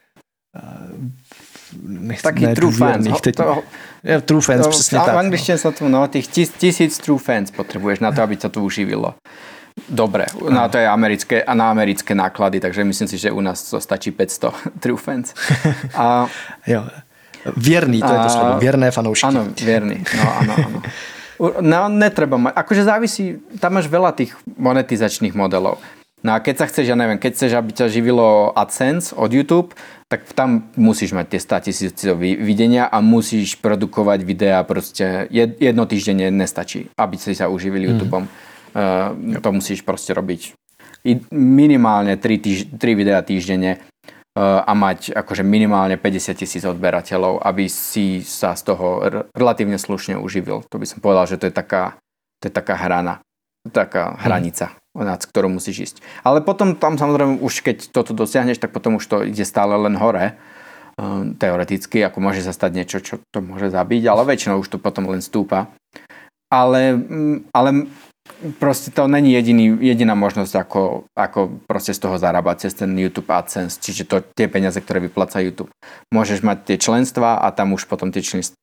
taký true fans. True fans, přesně tak. V angličtině sa to, tých 1000 true fans potrebuješ na to, aby sa to uživilo. Dobre, no to je na americké náklady, takže myslím si, že u nás to stačí 500 true fans. Jo. Věrný, to je to slovo, věrné fanoušky. Áno, věrný, áno. No, netreba mať, akože závisí, tam máš veľa tých monetizačných modelov. No a keď sa chceš, keď chceš, aby ťa živilo AdSense od YouTube, tak tam musíš mať tie 100 000 videnia a musíš produkovať videá proste jednotýždenne nestačí, aby si sa uživil YouTubeom. To musíš proste robiť minimálne 3 videá týždenne a mať akože minimálne 50 000 odberateľov, aby si sa z toho relatívne slušne uživil. To by som povedal, že to je taká hranica, nad ktorou musíš ísť. Ale potom tam samozrejme už keď toto dosiahneš, tak potom už to ide stále len hore. Teoreticky, ako môže sa stať niečo, čo to môže zabiť, ale väčšinou už to potom len stúpa. Ale proste to není jediná možnosť, ako proste z toho zarábať cez ten YouTube AdSense, čiže tie peniaze, ktoré vypláca YouTube. Môžeš mať tie členstva a tam už potom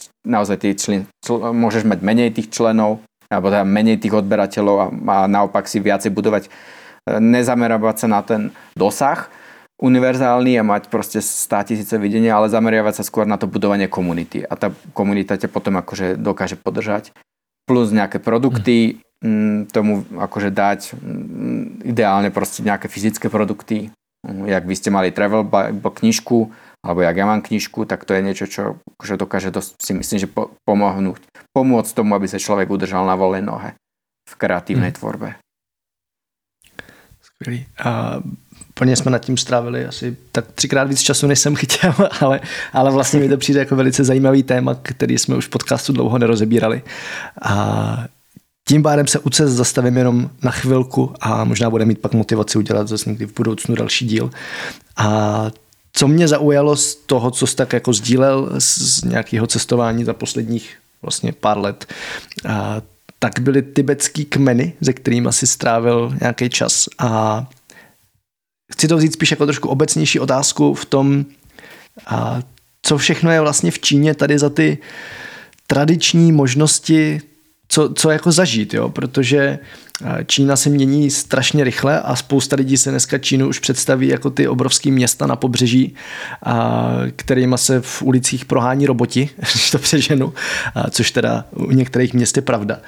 môžeš mať menej tých členov, alebo teda menej tých odberateľov a naopak si viacej budovať, nezamerávať sa na ten dosah univerzálny a mať proste 100 000 videnia, ale zameriavať sa skôr na to budovanie komunity. A tá komunita ťa potom akože dokáže podržať. Plus nejaké produkty, tomu akože dať ideálne proste nejaké fyzické produkty. Jak vy ste mali Travel Bible knižku, alebo jak ja mám knižku, tak to je niečo, čo akože dokáže dosť, si myslím, že pomôcť tomu, aby sa človek udržal na voľnej nohe v kreatívnej tvorbe. Skvělý. A plně jsme nad tím strávili asi tak 3x víc času, než jsem chtěl, ale vlastně mi to přijde jako velice zajímavý téma, který jsme už v podcastu dlouho nerozebírali. A tím pádem se u cest zastavím jenom na chvilku a možná bude mít pak motivaci udělat zase někdy v budoucnu další díl. A co mě zaujalo z toho, co jsi tak jako sdílel z nějakého cestování za posledních vlastně pár let, tak byly tibetský kmeny, se kterými si strávil nějaký čas. A chci to vzít spíš jako trošku obecnější otázku v tom, co všechno je vlastně v Číně tady za ty tradiční možnosti, co jako zažít, jo? Protože Čína se mění strašně rychle a spousta lidí se dneska Čínu už představí jako ty obrovský města na pobřeží, kterýma se v ulicích prohání roboti, když to přeženu, což teda u některých měst je pravda.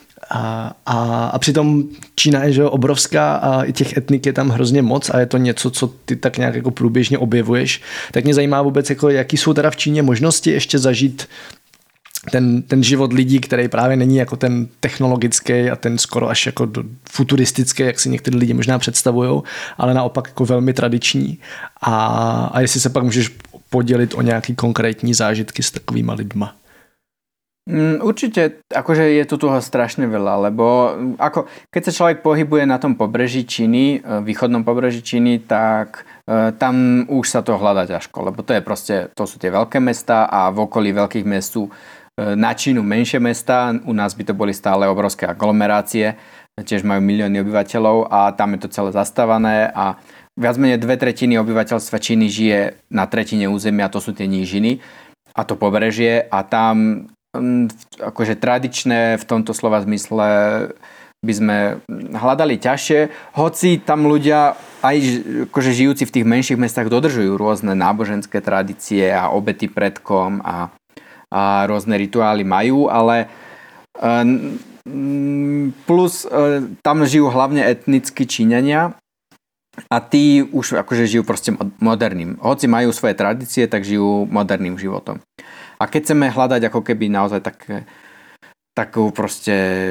A přitom Čína je že obrovská a i těch etnik je tam hrozně moc a je to něco, co ty tak nějak jako průběžně objevuješ. Tak mě zajímá vůbec, jako, jaký jsou teda v Číně možnosti ještě zažít ten život lidí, který právě není jako ten technologický a ten skoro až jako futuristický, jak si někteří lidi možná představujou, ale naopak jako velmi tradiční. A jestli se pak můžeš podělit o nějaký konkrétní zážitky s takovýma lidma. Určite, akože je tu toho strašne veľa, lebo ako keď sa človek pohybuje na tom pobreží Číny, východnom pobreží Číny, tak tam už sa to hľadá ťažko, lebo to sú tie veľké mestá a v okolí veľkých mest sú na Čínu menšie mestá, u nás by to boli stále obrovské aglomerácie, tiež majú milióny obyvateľov a tam je to celé zastávané a viac menej 2/3 obyvateľstva Číny žije na tretine územia, to sú tie nížiny a to pobrežie a tam akože tradičné v tomto slova zmysle by sme hľadali ťažšie, hoci tam ľudia aj akože žijúci v tých menších mestách dodržujú rôzne náboženské tradície a obety predkom a rôzne rituály majú, ale plus tam žijú hlavne etnickí Číňania a tí už akože žijú proste moderným. Hoci majú svoje tradície, tak žijú moderným životom. A keď chceme hľadať ako keby naozaj takú proste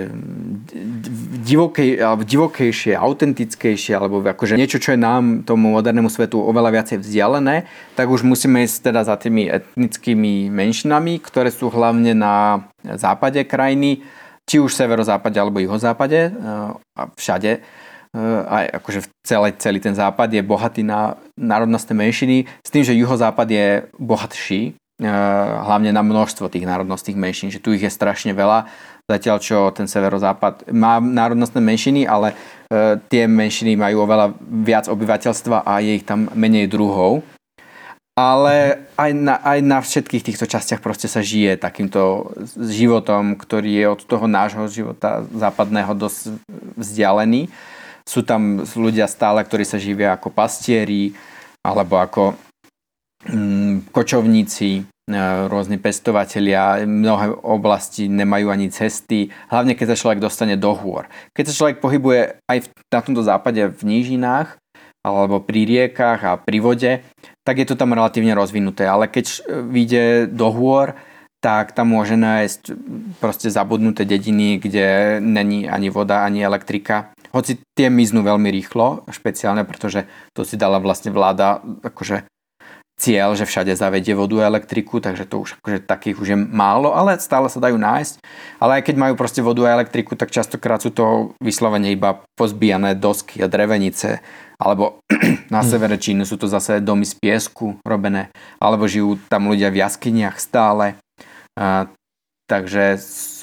divokejšie, autentickejšie, alebo akože niečo, čo je nám, tomu modernému svetu oveľa viacej vzdialené, tak už musíme ísť teda za tými etnickými menšinami, ktoré sú hlavne na západe krajiny, či už severozápade alebo juhozápade, a všade. Aj akože celý ten západ je bohatý na národnostné menšiny, s tým, že juhozápad je bohatší, hlavne na množstvo tých národnostných menšín, že tu ich je strašne veľa, zatiaľ čo ten severozápad má národnostné menšiny, ale tie menšiny majú oveľa viac obyvateľstva a je ich tam menej druhov. Ale aj na všetkých týchto častiach proste sa žije takýmto životom, ktorý je od toho nášho života západného dosť vzdialený. Sú tam ľudia stále, ktorí sa živia ako pastieri alebo ako kočovníci, rôzni pestovatelia, mnohé oblasti nemajú ani cesty, hlavne keď sa človek dostane do hôr. Keď sa človek pohybuje aj na tomto západe v nížinách alebo pri riekach a pri vode, tak je to tam relatívne rozvinuté, ale keď vyjde do hôr, tak tam môže nájsť proste zabudnuté dediny, kde není ani voda, ani elektrika. Hoci tie miznú veľmi rýchlo, špeciálne, pretože to si dala vlastne vláda akože cieľ, že všade zavedie vodu a elektriku, takže to už akože takých už je málo, ale stále sa dajú nájsť. Ale aj keď majú proste vodu a elektriku, tak častokrát sú to vyslovene iba pozbíjané dosky a drevenice, alebo na severe Číny sú to zase domy z piesku robené, alebo žijú tam ľudia v jaskyniach stále. Takže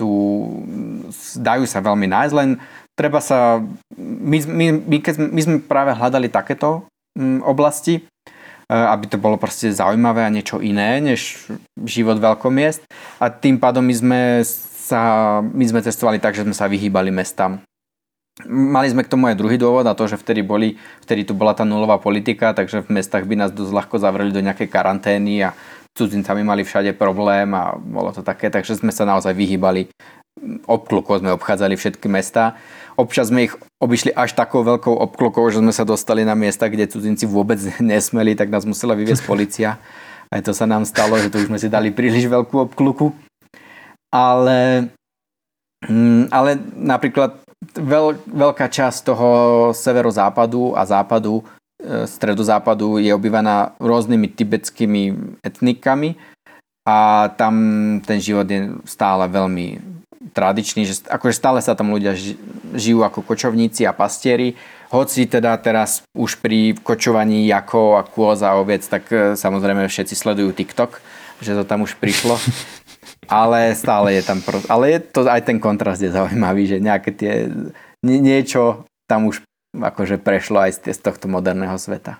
dajú sa veľmi nájsť, len treba sa... My sme práve hľadali takéto oblasti, aby to bolo proste zaujímavé a niečo iné, než život veľkomiest. A tým pádom my sme cestovali tak, že sme sa vyhýbali mestám. Mali sme k tomu aj druhý dôvod a to, že vtedy tu bola tá nulová politika, takže v mestách by nás dosť ľahko zavreli do nejakej karantény a cudzincami mali všade problém a bolo to také, takže sme sa naozaj vyhýbali. Obklukou sme obchádzali všetky mestá. Občas sme ich obišli až takou veľkou obklukou, že sme sa dostali na miesta, kde cudzinci vôbec nesmeli, tak nás musela vyviesť polícia. Aj to sa nám stalo, že tu už sme si dali príliš veľkú obkluku. Ale napríklad veľká časť toho severozápadu a západu, stredozápadu je obývaná rôznymi tibetskými etnikami a tam ten život je stále veľmi tradičný, že akože stále sa tam ľudia žijú ako kočovníci a pastieri, hoci teda teraz už pri kočovaní jakov a kôz a oviec, tak samozrejme všetci sledujú TikTok, že to tam už prišlo. Ale stále je tam... Ale je to, aj ten kontrast je zaujímavý, že nejaké tie... Niečo tam už akože prešlo aj z tohto moderného sveta.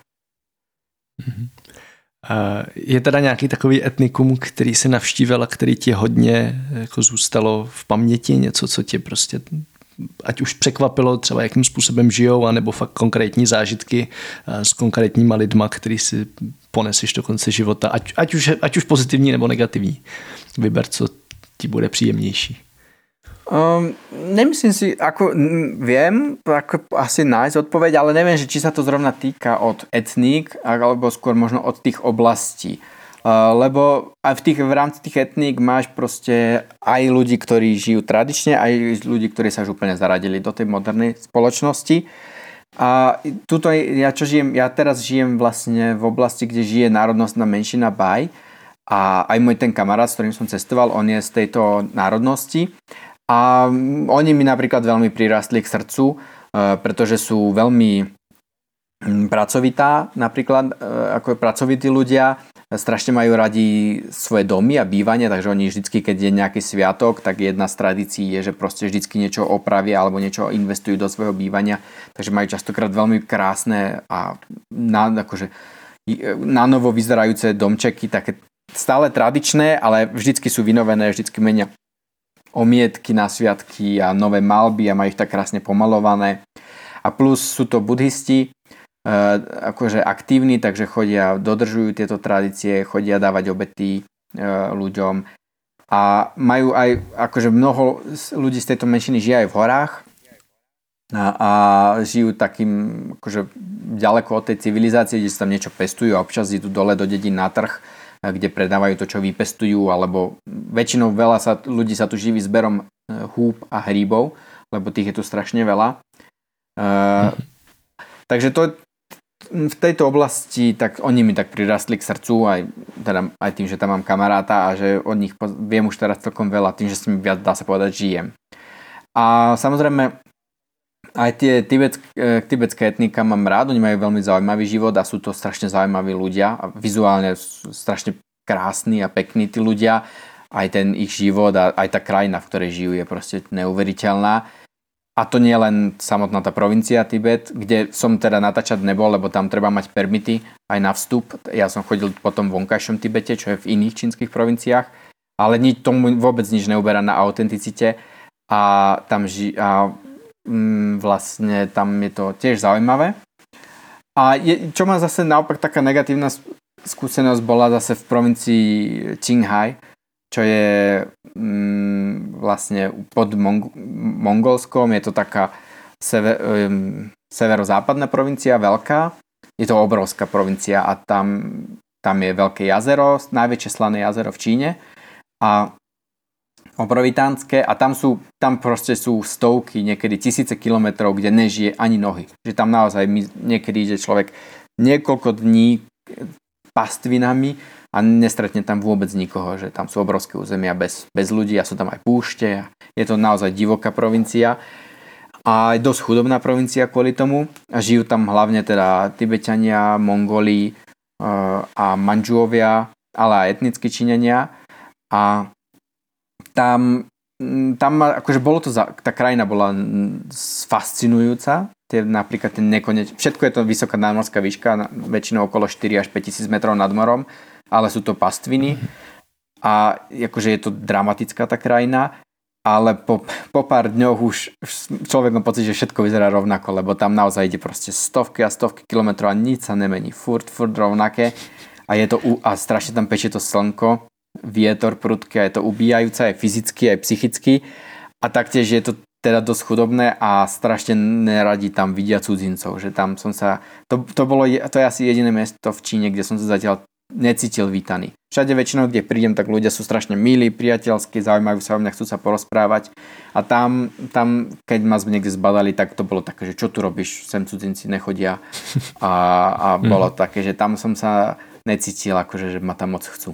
Je teda nějaký takový etnikum, který si navštívil a který ti hodně jako zůstalo v paměti? Něco, co tě prostě ať už překvapilo třeba jakým způsobem žijou, anebo fakt konkrétní zážitky s konkrétníma lidma, který si poneseš do konce života, ať už pozitivní nebo negativní. Vyber, co ti bude příjemnější. Nemyslím si, ako viem ako asi nájsť odpoveď, ale neviem, že či sa to zrovna týka od etník, alebo skôr možno od tých oblastí. Lebo aj v rámci tých etník máš proste aj ľudí, ktorí žijú tradične, aj ľudí, ktorí sa už úplne zaradili do tej modernej spoločnosti. A tuto ja teraz žijem vlastne v oblasti, kde žije národnostná menšina Bai a aj môj ten kamarát, s ktorým som cestoval, on je z tejto národnosti. A oni mi napríklad veľmi prirastli k srdcu, pretože sú veľmi pracovitá, napríklad ako pracovití ľudia, strašne majú radi svoje domy a bývanie, takže oni vždycky, keď je nejaký sviatok, tak jedna z tradícií je, že proste vždycky niečo opravia alebo niečo investujú do svojho bývania, takže majú častokrát veľmi krásne a akože na novo vyzerajúce domčeky, také stále tradičné, ale vždycky sú vynovené, vždycky menia omietky na sviatky a nové malby a majú ich tak krásne pomalované. A plus sú to budhisti, akože aktívni, takže chodia, dodržujú tieto tradície, chodia dávať obety ľuďom. A majú aj, akože mnoho ľudí z tejto menšiny žije aj v horách a žijú takým, akože ďaleko od tej civilizácie, kde sa tam niečo pestujú a občas idú dole do dedín na trh, kde predávajú to, čo vypestujú, alebo väčšinou ľudí sa tu živí zberom húb a hríbov, lebo tých je tu strašne veľa. Takže to v tejto oblasti, tak oni mi tak prirastli k srdcu, aj tým, že tam mám kamaráta a že od nich viem už teraz celkom veľa, tým, že s nimi viac, dá sa povedať, žijem. A samozrejme, aj tie tibetské etnika mám rád, oni majú veľmi zaujímavý život a sú to strašne zaujímaví ľudia a vizuálne sú strašne krásni a pekní tí ľudia. Aj ten ich život a aj tá krajina, v ktorej žijú, je proste neuveriteľná. A to nie len samotná tá provincia Tibet, kde som teda natáčať nebol, lebo tam treba mať permity aj na vstup. Ja som chodil po tom vonkajšom Tibete, čo je v iných čínskych provinciách, ale tomu vôbec nič neuberá na autenticite a tam vlastne tam je to tiež zaujímavé. A čo má zase naopak taká negatívna skúsenosť bola zase v provincii Qinghai, čo je vlastne pod Mongolskom, je to taká severozápadná provincia, veľká. Je to obrovská provincia a tam je veľké jazero, najväčšie slané jazero v Číne a obrovitánske a tam proste sú stovky, niekedy tisíce kilometrov, kde nežije ani nohy. Že tam naozaj niekedy ide človek niekoľko dní pastvinami a nestretne tam vôbec nikoho, že tam sú obrovské územia bez ľudí a sú tam aj púšte. Je to naozaj divoká provincia a aj dosť chudobná provincia kvôli tomu a žijú tam hlavne teda Tibetania, Mongoli a Mandžuovia, ale aj etnickí Číňania a tam akože tá krajina bola fascinujúca, napríklad všetko je to vysoká nadmorská výška, väčšinou okolo 4 až 5 tisíc metrov nad morom, ale sú to pastviny a akože je to dramatická tá krajina, ale po pár dňoch už človek má pocit, že všetko vyzerá rovnako, lebo tam naozaj ide proste stovky a stovky kilometrov a nič sa nemení, furt rovnaké a strašne tam pečie to slnko, vietor prudký a je to ubíjajúce aj fyzicky, aj psychicky a taktiež je to teda dosť chudobné a strašne neradi tam vidia cudzincov, že tam som sa to je asi jediné miesto v Číne, kde som sa zatiaľ necítil vítaný. Všade väčšinou, kde prídem, tak ľudia sú strašne milí, priateľskí, zaujímajú sa o mňa, chcú sa porozprávať. A tam, keď ma niekde zbadali, tak to bolo také, že čo tu robíš, sem cudzinci nechodia. A bolo také, že tam som sa necítil, akože, že ma tam moc chcú.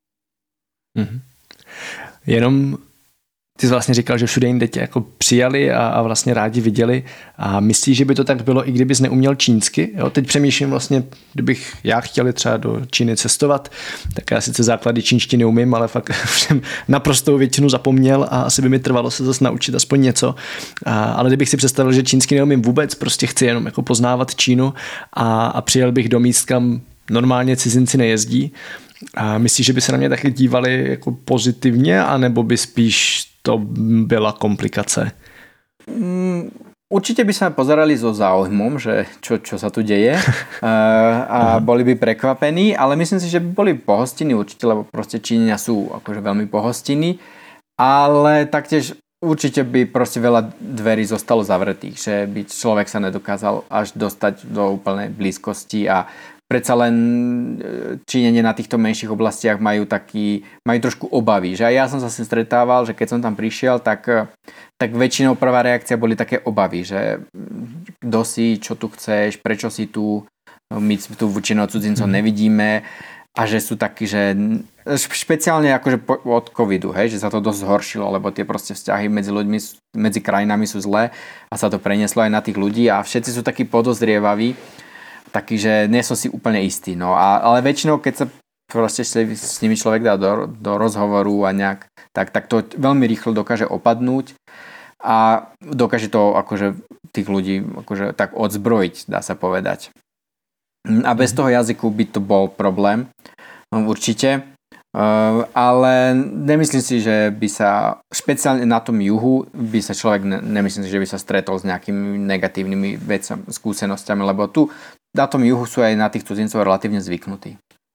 Jenom ty jsi vlastně říkal, že všude jinde tě jako přijali a vlastně rádi viděli a myslíš, že by to tak bylo, i kdybys neuměl čínsky? Jo, teď přemýšlím vlastně, kdybych já chtěl třeba do Číny cestovat, tak já sice základy čínštiny umím, ale fakt jsem naprostou většinu zapomněl a asi by mi trvalo se zase naučit aspoň něco. Ale kdybych si představil, že čínsky neumím vůbec, prostě chci jenom jako poznávat Čínu a přijel bych do míst, kam normálně cizinci nejezdí. A myslíš, že by se na mě taky dívali jako pozitivně, anebo by spíš to byla komplikace? Určite by sa pozerali so záujmom, že čo sa tu deje a boli by prekvapení, ale myslím si, že by boli pohostinní určite, lebo proste Číňania sú akože veľmi pohostinní, ale taktiež určite by proste veľa dverí zostalo zavretých, že by človek sa nedokázal až dostať do úplnej blízkosti a predsa len Číňania na týchto menších oblastiach majú trošku obavy. Že aj ja som sa s tým stretával, že keď som tam prišiel, tak väčšinou prvá reakcia boli také obavy, že kto si, čo tu chceš, prečo si tu, my tu väčšinou cudzincov nevidíme a že sú takí, že špeciálne akože od covidu, hej, že sa to dosť zhoršilo, lebo tie proste vzťahy medzi ľuďmi, medzi krajinami sú zlé a sa to prenieslo aj na tých ľudí a všetci sú takí podozrievaví, taký, že nie som si úplne istý. No, ale väčšinou, keď sa proste s nimi človek dá do rozhovoru a nejak, tak to veľmi rýchlo dokáže opadnúť a dokáže to akože tých ľudí akože tak odzbrojiť, dá sa povedať. A bez toho jazyku by to bol problém, určite. Ale nemyslím si, že by sa špeciálne na tom juhu by sa človek nemyslím si, že by sa stretol s nejakými negatívnymi skúsenosťami, lebo tu na tom juhu sú aj na tých cudzincov relatívne zvyknutí.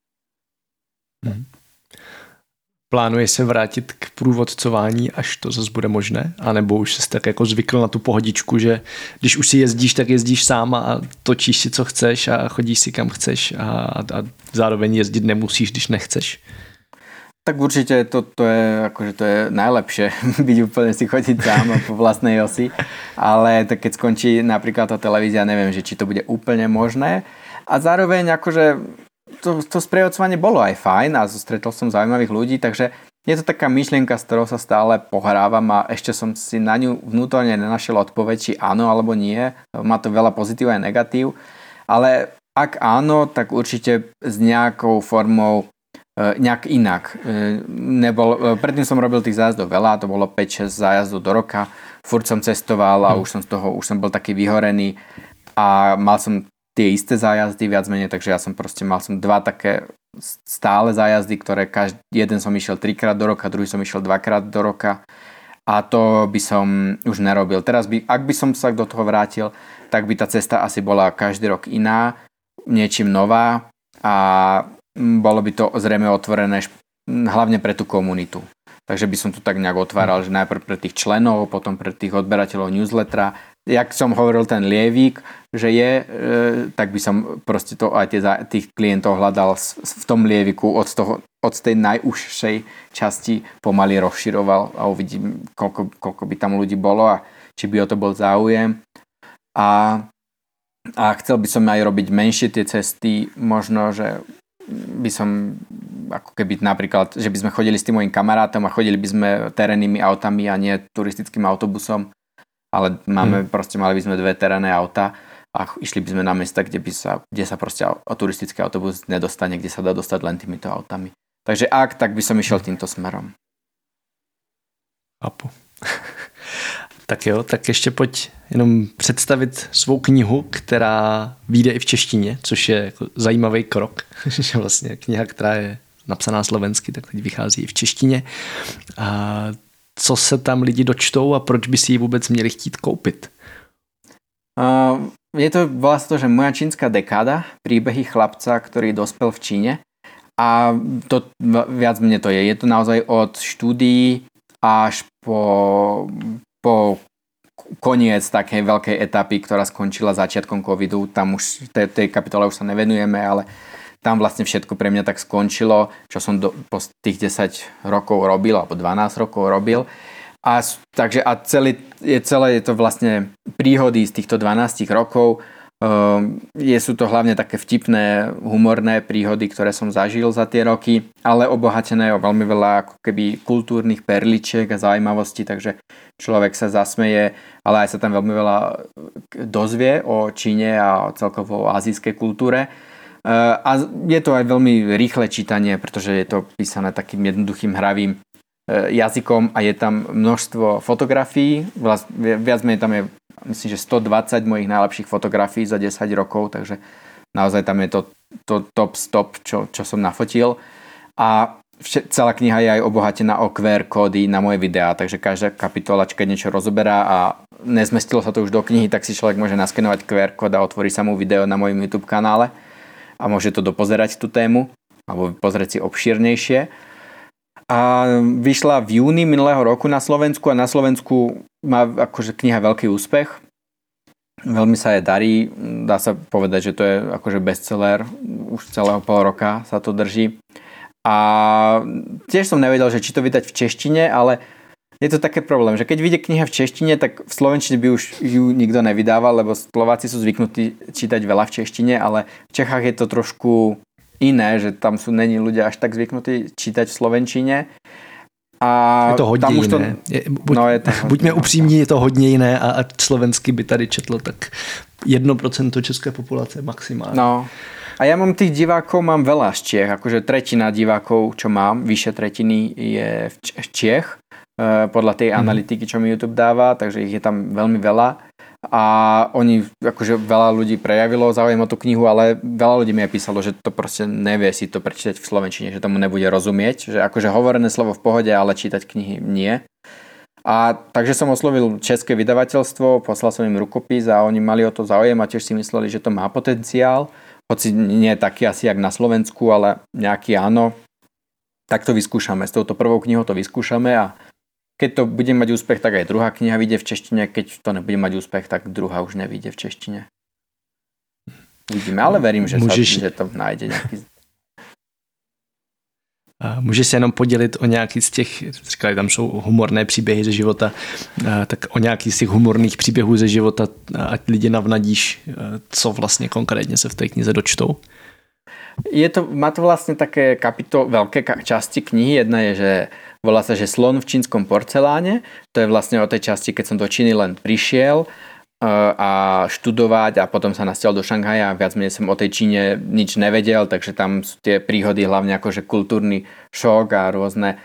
Plánuješ se vrátit k průvodcování, až to zase bude možné? A nebo už jsi tak jako zvykl na tu pohodičku, že když už si jezdíš, tak jezdíš sám a točíš si, co chceš a chodíš si, kam chceš a zároveň jezdit nemusíš, když nechceš? Tak určite to je najlepšie byť úplne si chodiť sám po vlastnej osi, ale tak keď skončí napríklad tá televízia, neviem, že či to bude úplne možné a zároveň akože to sprievodcovanie bolo aj fajn a stretol som zaujímavých ľudí, takže je to taká myšlienka, s ktorou sa stále pohrávam a ešte som si na ňu vnútorne nenašiel odpoveď, či áno alebo nie, má to veľa pozitív aj negatív, ale ak áno, tak určite s nejakou formou nejak inak. Predtým som robil tých zájazdov veľa, to bolo 5-6 zájazdov do roka, furt som cestoval a už som bol taký vyhorený a mal som tie isté zájazdy viac menej, takže mal som dva také stále zájazdy, ktoré jeden som išiel 3-krát do roka, druhý som išiel 2-krát do roka a to by som už nerobil. Teraz ak by som sa do toho vrátil, tak by tá cesta asi bola každý rok iná, niečím nová a bolo by to zrejme otvorené hlavne pre tú komunitu. Takže by som tu tak nejak otváral, že najprv pre tých členov, potom pre tých odberateľov newslettera. Jak som hovoril ten lievík, že je, tak by som proste to aj tých klientov hľadal v tom lieviku od tej najúžšej časti pomaly rozširoval a uvidím, koľko by tam ľudí bolo a či by o to bol záujem. A chcel by som aj robiť menšie tie cesty, možno, že by som ako keby napríklad, že by sme chodili s tým mojim kamarátom a chodili by sme terénnymi autami a nie turistickým autobusom, ale mali by sme 2 terénne auta a išli by sme na miesta, kde sa proste turistický autobus nedostane, kde sa dá dostať len týmito autami. Takže tak by som išiel týmto smerom. Apu. Tak jo, tak ještě pojď jenom představit svou knihu, která vyjde i v češtině, což je jako zajímavý krok, že vlastně kniha, která je napsaná slovensky, tak teď vychází i v češtině. A co se tam lidi dočtou a proč by si ji vůbec měli chtít koupit? Volá sa to, že Moja čínska dekáda, príbehy chlapca, ktorý dospel v Číne. A to viac mne to je. Je to naozaj od štúdií až po koniec takej veľkej etapy, ktorá skončila začiatkom covidu. Tam už tej kapitole už sa nevenujeme, ale tam vlastne všetko pre mňa tak skončilo, čo som po tých 10 rokov robil, alebo 12 rokov robil. Takže celé je to vlastne príhody z týchto 12 rokov. Sú to hlavne také vtipné, humorné príhody, ktoré som zažil za tie roky, ale obohatené o veľmi veľa ako keby kultúrnych perličiek a zaujímavostí, takže človek sa zasmeje, ale aj sa tam veľmi veľa dozvie o Číne a celkovo o azijskej kultúre. A je to aj veľmi rýchle čítanie, pretože je to písané takým jednoduchým hravým jazykom a je tam množstvo fotografií. Viac menej tam je, myslím, že 120 mojich najlepších fotografií za 10 rokov, takže naozaj tam je to top stop, čo som nafotil. A celá kniha je aj obohatená o QR kódy na moje videá, takže každá kapitolačka niečo rozoberá a nezmestilo sa to už do knihy, tak si človek môže naskenovať QR kód a otvorí sa mu video na mojom YouTube kanále a môže to dopozerať tú tému alebo pozrieť si obšírnejšie. A vyšla v júni minulého roku na Slovensku a na Slovensku má akože kniha veľký úspech. Veľmi sa jej darí, dá sa povedať, že to je akože bestseller, už celého pol roka sa to drží. A tiež som nevedel, že či to vydať v češtine, ale je to také problém, že keď vyjde kniha v češtine, tak v slovenčine by už ju nikto nevydával, lebo Slováci sú zvyknutí čítať veľa v češtine, ale v Čechách je to trošku iné, že tam není ľudia až tak zvyknutí čítať v slovenčine. A je to hodně tam už jiné. Buďme upřímní, je to hodně jiné a slovensky by tady četlo tak 1% české populace maximálně. No. A ja mám tých divákov, mám veľa z Čiech, akože tretina divákov, čo mám, vyššie tretiny je v Čiech, podľa tej analytiky, čo mi YouTube dáva, takže ich je tam veľmi veľa. A oni, akože veľa ľudí prejavilo záujem o tú knihu, ale veľa ľudí mi aj písalo, že to proste nevie si to prečítať v slovenčine, že tomu nebude rozumieť, že akože hovorené slovo v pohode, ale čítať knihy nie. A takže som oslovil české vydavateľstvo, poslal som im rukopis a oni mali o to záujem a tiež si mysleli, že to má potenciál, hoci nie je taký asi jak na Slovensku, ale nejaký áno. Tak to vyskúšame, s touto prvou knihou to vyskúšame a keď to bude mať úspech, tak aj druhá kniha vyjde v češtine, keď to nebude mať úspech, tak druhá už nevyjde v češtine. Vidíme, ale verím, že to nájde nejaký. Můžeš se jenom podělit o nějaký z těch, říkali, tam jsou humorné příběhy ze života, tak o nějaký z těch humorných příběhů ze života, ať lidi navnadíš, co vlastně konkrétně se v té knize dočtou? Má to vlastne také veľké časti knihy. Jedna je, že volá sa, že Slon v čínskom porceláne. To je vlastne o tej časti, keď som do Číny len prišiel a študovať a potom sa nasťahoval do Šanghaja a viac menej som o tej Číne nič nevedel, takže tam sú tie príhody hlavne akože kultúrny šok a rôzne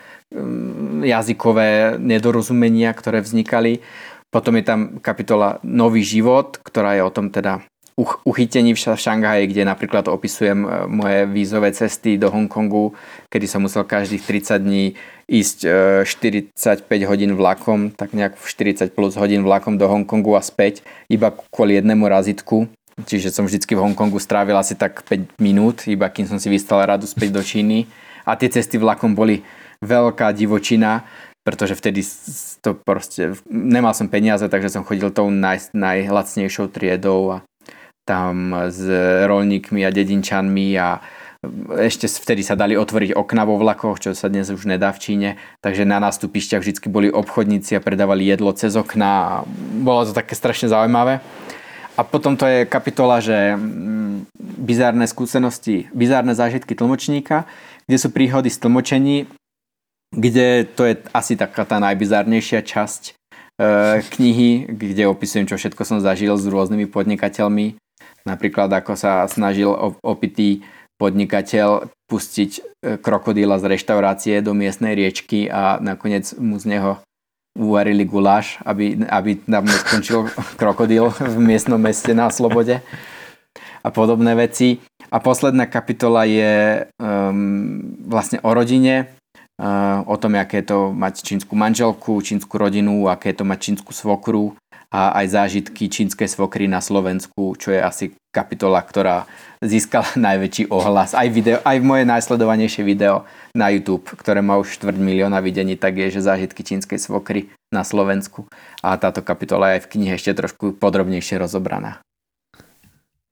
jazykové nedorozumenia, ktoré vznikali. Potom je tam kapitola Nový život, ktorá je o tom teda uchytení v Šanghaji, kde napríklad opisujem moje vízové cesty do Hongkongu, kedy som musel každých 30 dní ísť 45 hodín vlakom, tak nejak 40 plus hodín vlakom do Hongkongu a späť, iba kvôli jednému razítku. Čiže som vždycky v Hongkongu strávil asi tak 5 minút, iba kým som si vystal radu späť do Číny. A tie cesty vlakom boli veľká divočina, pretože vtedy to proste, nemal som peniaze, takže som chodil tou najlacnejšou triedou a tam s roľníkmi a dedinčanmi a ešte vtedy sa dali otvoriť okna vo vlakoch, čo sa dnes už nedá v Číne, takže na nástupišťach vždy boli obchodníci a predávali jedlo cez okna a bolo to také strašne zaujímavé. A potom to je kapitola, že bizárne skúsenosti, bizárne zážitky tlmočníka, kde sú príhody z tlmočení, kde to je asi taká tá najbizárnejšia časť knihy, kde opisujem, čo všetko som zažil s rôznymi podnikateľmi. Napríklad, ako sa snažil opitý podnikateľ pustiť krokodíla z reštaurácie do miestnej riečky a nakoniec mu z neho uvarili guláš, aby tam neskončil krokodíl v miestnom meste na slobode a podobné veci. A posledná kapitola je vlastne o rodine, o tom, aké je to mať čínsku manželku, čínsku rodinu, aké je to mať čínsku svokru a aj zážitky čínskej svokry na Slovensku, čo je asi kapitola, ktorá získala najväčší ohlas. Aj moje najsledovanejšie video na YouTube, ktoré má už 250 000 videní, tak je, že zážitky čínskej svokry na Slovensku. A táto kapitola je aj v knihe ešte trošku podrobnejšie rozobraná.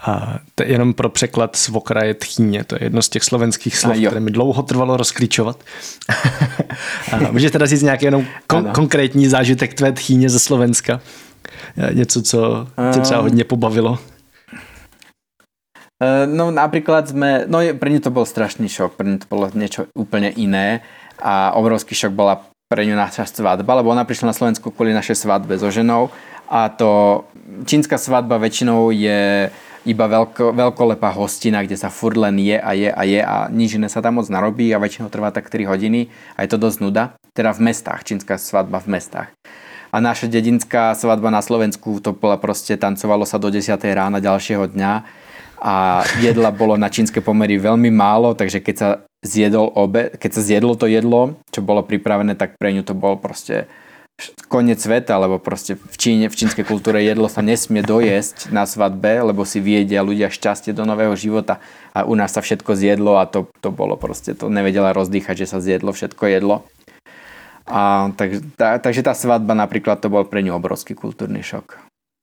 A to je jenom pro překlad svokra je tchýně, to je jedno z těch slovenských slov, které mi dlouho trvalo rozklíčovat. Můžeš teda říct nějaký jenom konkrétní zážitek tvé tchýně ze Slovenska? Něco, co tě třeba hodně pobavilo? No napríklad pre ňu to bol strašný šok, pre ňu to bolo niečo úplne iné a obrovský šok bola pre ňu naša svadba, lebo ona prišla na Slovensku kvôli našej svadbe so ženou a to čínska svadba väčšinou je iba veľkolepá hostina, kde sa furt len je a nič iné sa tam moc narobí a väčšinou trvá tak 3 hodiny a je to dosť nuda, teda v mestách, čínska svadba v mestách. A naša dedinská svadba na Slovensku to bola proste, tancovalo sa do 10 rána ďalšieho dňa a jedla bolo na čínske pomery veľmi málo, takže keď sa zjedlo to jedlo, čo bolo pripravené, tak pre ňu to bol proste koniec sveta, lebo proste v čínskej kultúre jedlo sa nesmie dojesť na svadbe, lebo si viedia ľudia šťastie do nového života a u nás sa všetko zjedlo a to bolo proste, to nevedela rozdýchať, že sa zjedlo všetko jedlo. A takže tá svadba napríklad to bol pre ňu obrovský kultúrny šok.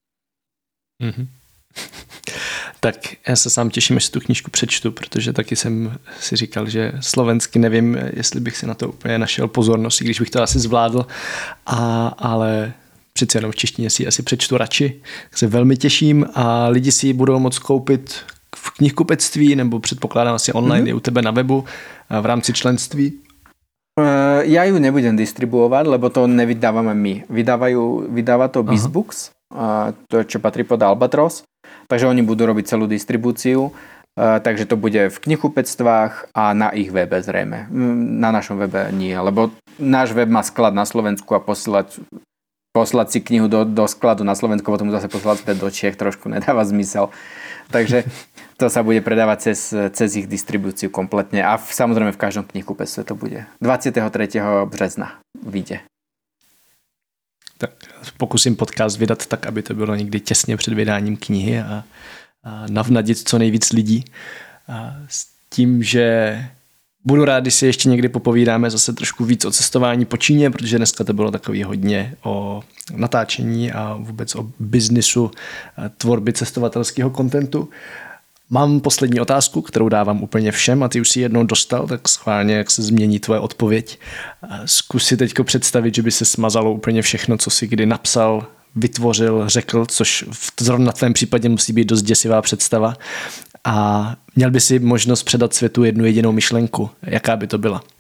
Tak já se sám těším, až si tu knížku přečtu, protože taky jsem si říkal, že slovensky nevím, jestli bych si na to úplně našel pozornost, i když bych to asi zvládl, ale přece jenom v češtině si asi přečtu radši. Tak se velmi těším a lidi si ji budou moct koupit v knihkupectví nebo předpokládám asi online i u tebe na webu v rámci členství. Ja ju nebudem distribuovať, lebo to nevydávame my. Vydáva to BizBooks, to čo patrí pod Albatros, takže oni budú robiť celú distribúciu, takže to bude v knihkupectvách a na ich webe zrejme. Na našom webe nie, lebo náš web má sklad na Slovensku a poslať si knihu do skladu na Slovensku, potom zase poslať späť do Čiech trošku nedáva zmysel. Takže to sa bude predávať cez ich distribúciu kompletne a samozrejme v každom knihkupectve to bude. 23. března vyjde. Tak pokusím podcast vydat tak, aby to bylo někdy těsně před vydáním knihy a navnadit co nejvíc lidí. A s tím, že budu rád, když si ještě někdy popovídáme zase trošku víc o cestování po Číně, protože dneska to bylo takový hodně o natáčení a vůbec o biznisu tvorby cestovatelského kontentu. Mám poslední otázku, kterou dávám úplně všem a ty už si jednou dostal, tak schválně, jak se změní tvoje odpověď. Zkus si teďko představit, že by se smazalo úplně všechno, co si kdy napsal, vytvořil, řekl, což zrovna v tvém případě musí být dost děsivá představa. A měl by si možnost předat světu jednu jedinou myšlenku. Jaká by to byla?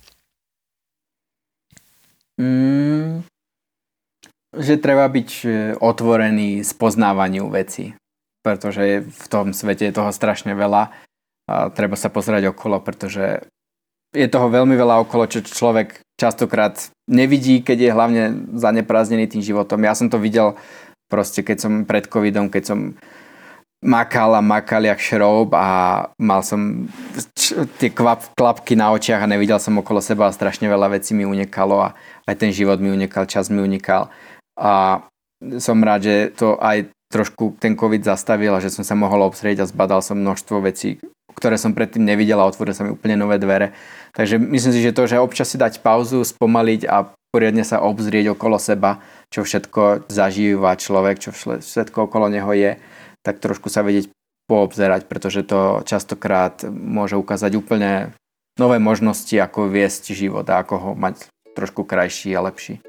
Že treba byť otvorený spoznávaniu vecí, pretože v tom svete je toho strašne veľa a treba sa pozerať okolo, pretože je toho veľmi veľa okolo, čo človek častokrát nevidí, keď je hlavne zaneprázdnený tým životom. Ja som to videl proste, keď som pred covidom, keď som makal jak šroub a mal som tie klapky na očiach a nevidel som okolo seba a strašne veľa vecí mi unikalo a aj ten život mi unikal, čas mi unikal a som rád, že to aj trošku ten covid zastavil a že som sa mohol obzrieť a zbadal som množstvo vecí, ktoré som predtým nevidel a otvoril sa mi úplne nové dvere. Takže myslím si, že to, že občas si dať pauzu, spomaliť a poriadne sa obzrieť okolo seba, čo všetko zažíva človek, čo všetko okolo neho je, tak trošku sa vedieť poobzerať, pretože to častokrát môže ukázať úplne nové možnosti, ako viesť život a ako ho mať trošku krajší a lepší.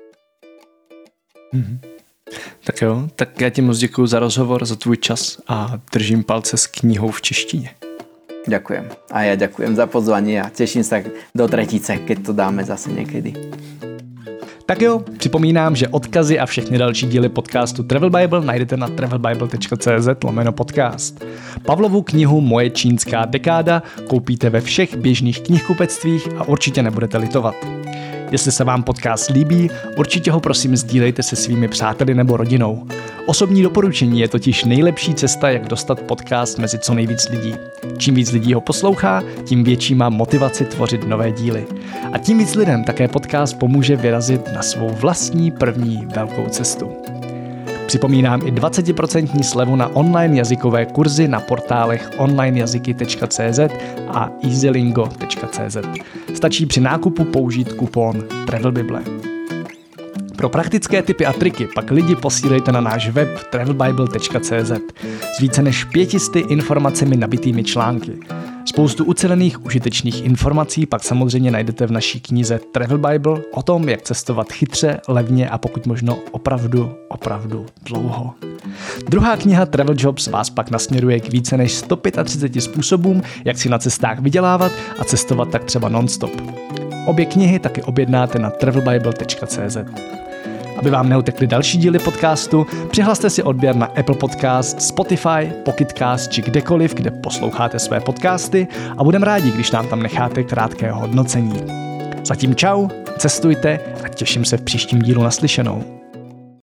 Tak jo, tak já ti moc děkuju za rozhovor, za tvůj čas a držím palce s knihou v češtině. Ďakujem. A ja ďakujem za pozvanie a teším sa do tretice, keď to dáme zase niekedy. Tak jo, připomínám, že odkazy a všechny další díly podcastu Travel Bible najdete na travelbible.cz/podcast. Pavlovu knihu Moje čínská dekáda koupíte ve všech běžných knihkupectvích a určitě nebudete litovat. Jestli se vám podcast líbí, určitě ho prosím sdílejte se svými přáteli nebo rodinou. Osobní doporučení je totiž nejlepší cesta, jak dostat podcast mezi co nejvíc lidí. Čím víc lidí ho poslouchá, tím větší má motivaci tvořit nové díly. A tím víc lidem také podcast pomůže vyrazit na svou vlastní první velkou cestu. Připomínám i 20% slevu na online jazykové kurzy na portálech onlinejazyky.cz a easylingo.cz. Stačí při nákupu použít kupon Travel Bible. Pro praktické tipy a triky pak lidi posílejte na náš web travelbible.cz s více než 500 informacemi nabitými články. Spoustu ucelených užitečných informací pak samozřejmě najdete v naší knize Travel Bible o tom, jak cestovat chytře, levně a pokud možno opravdu dlouho. Druhá kniha Travel Jobs vás pak nasměruje k více než 135 způsobům, jak si na cestách vydělávat a cestovat tak třeba non-stop. Obě knihy taky objednáte na travelbible.cz. Aby vám neutekly další díly podcastu, přihlaste si odběr na Apple Podcast, Spotify, Pocketcast či kdekoliv, kde posloucháte své podcasty a budeme rádi, když nám tam necháte krátké hodnocení. Zatím čau, cestujte a těším se v příštím dílu naslyšenou.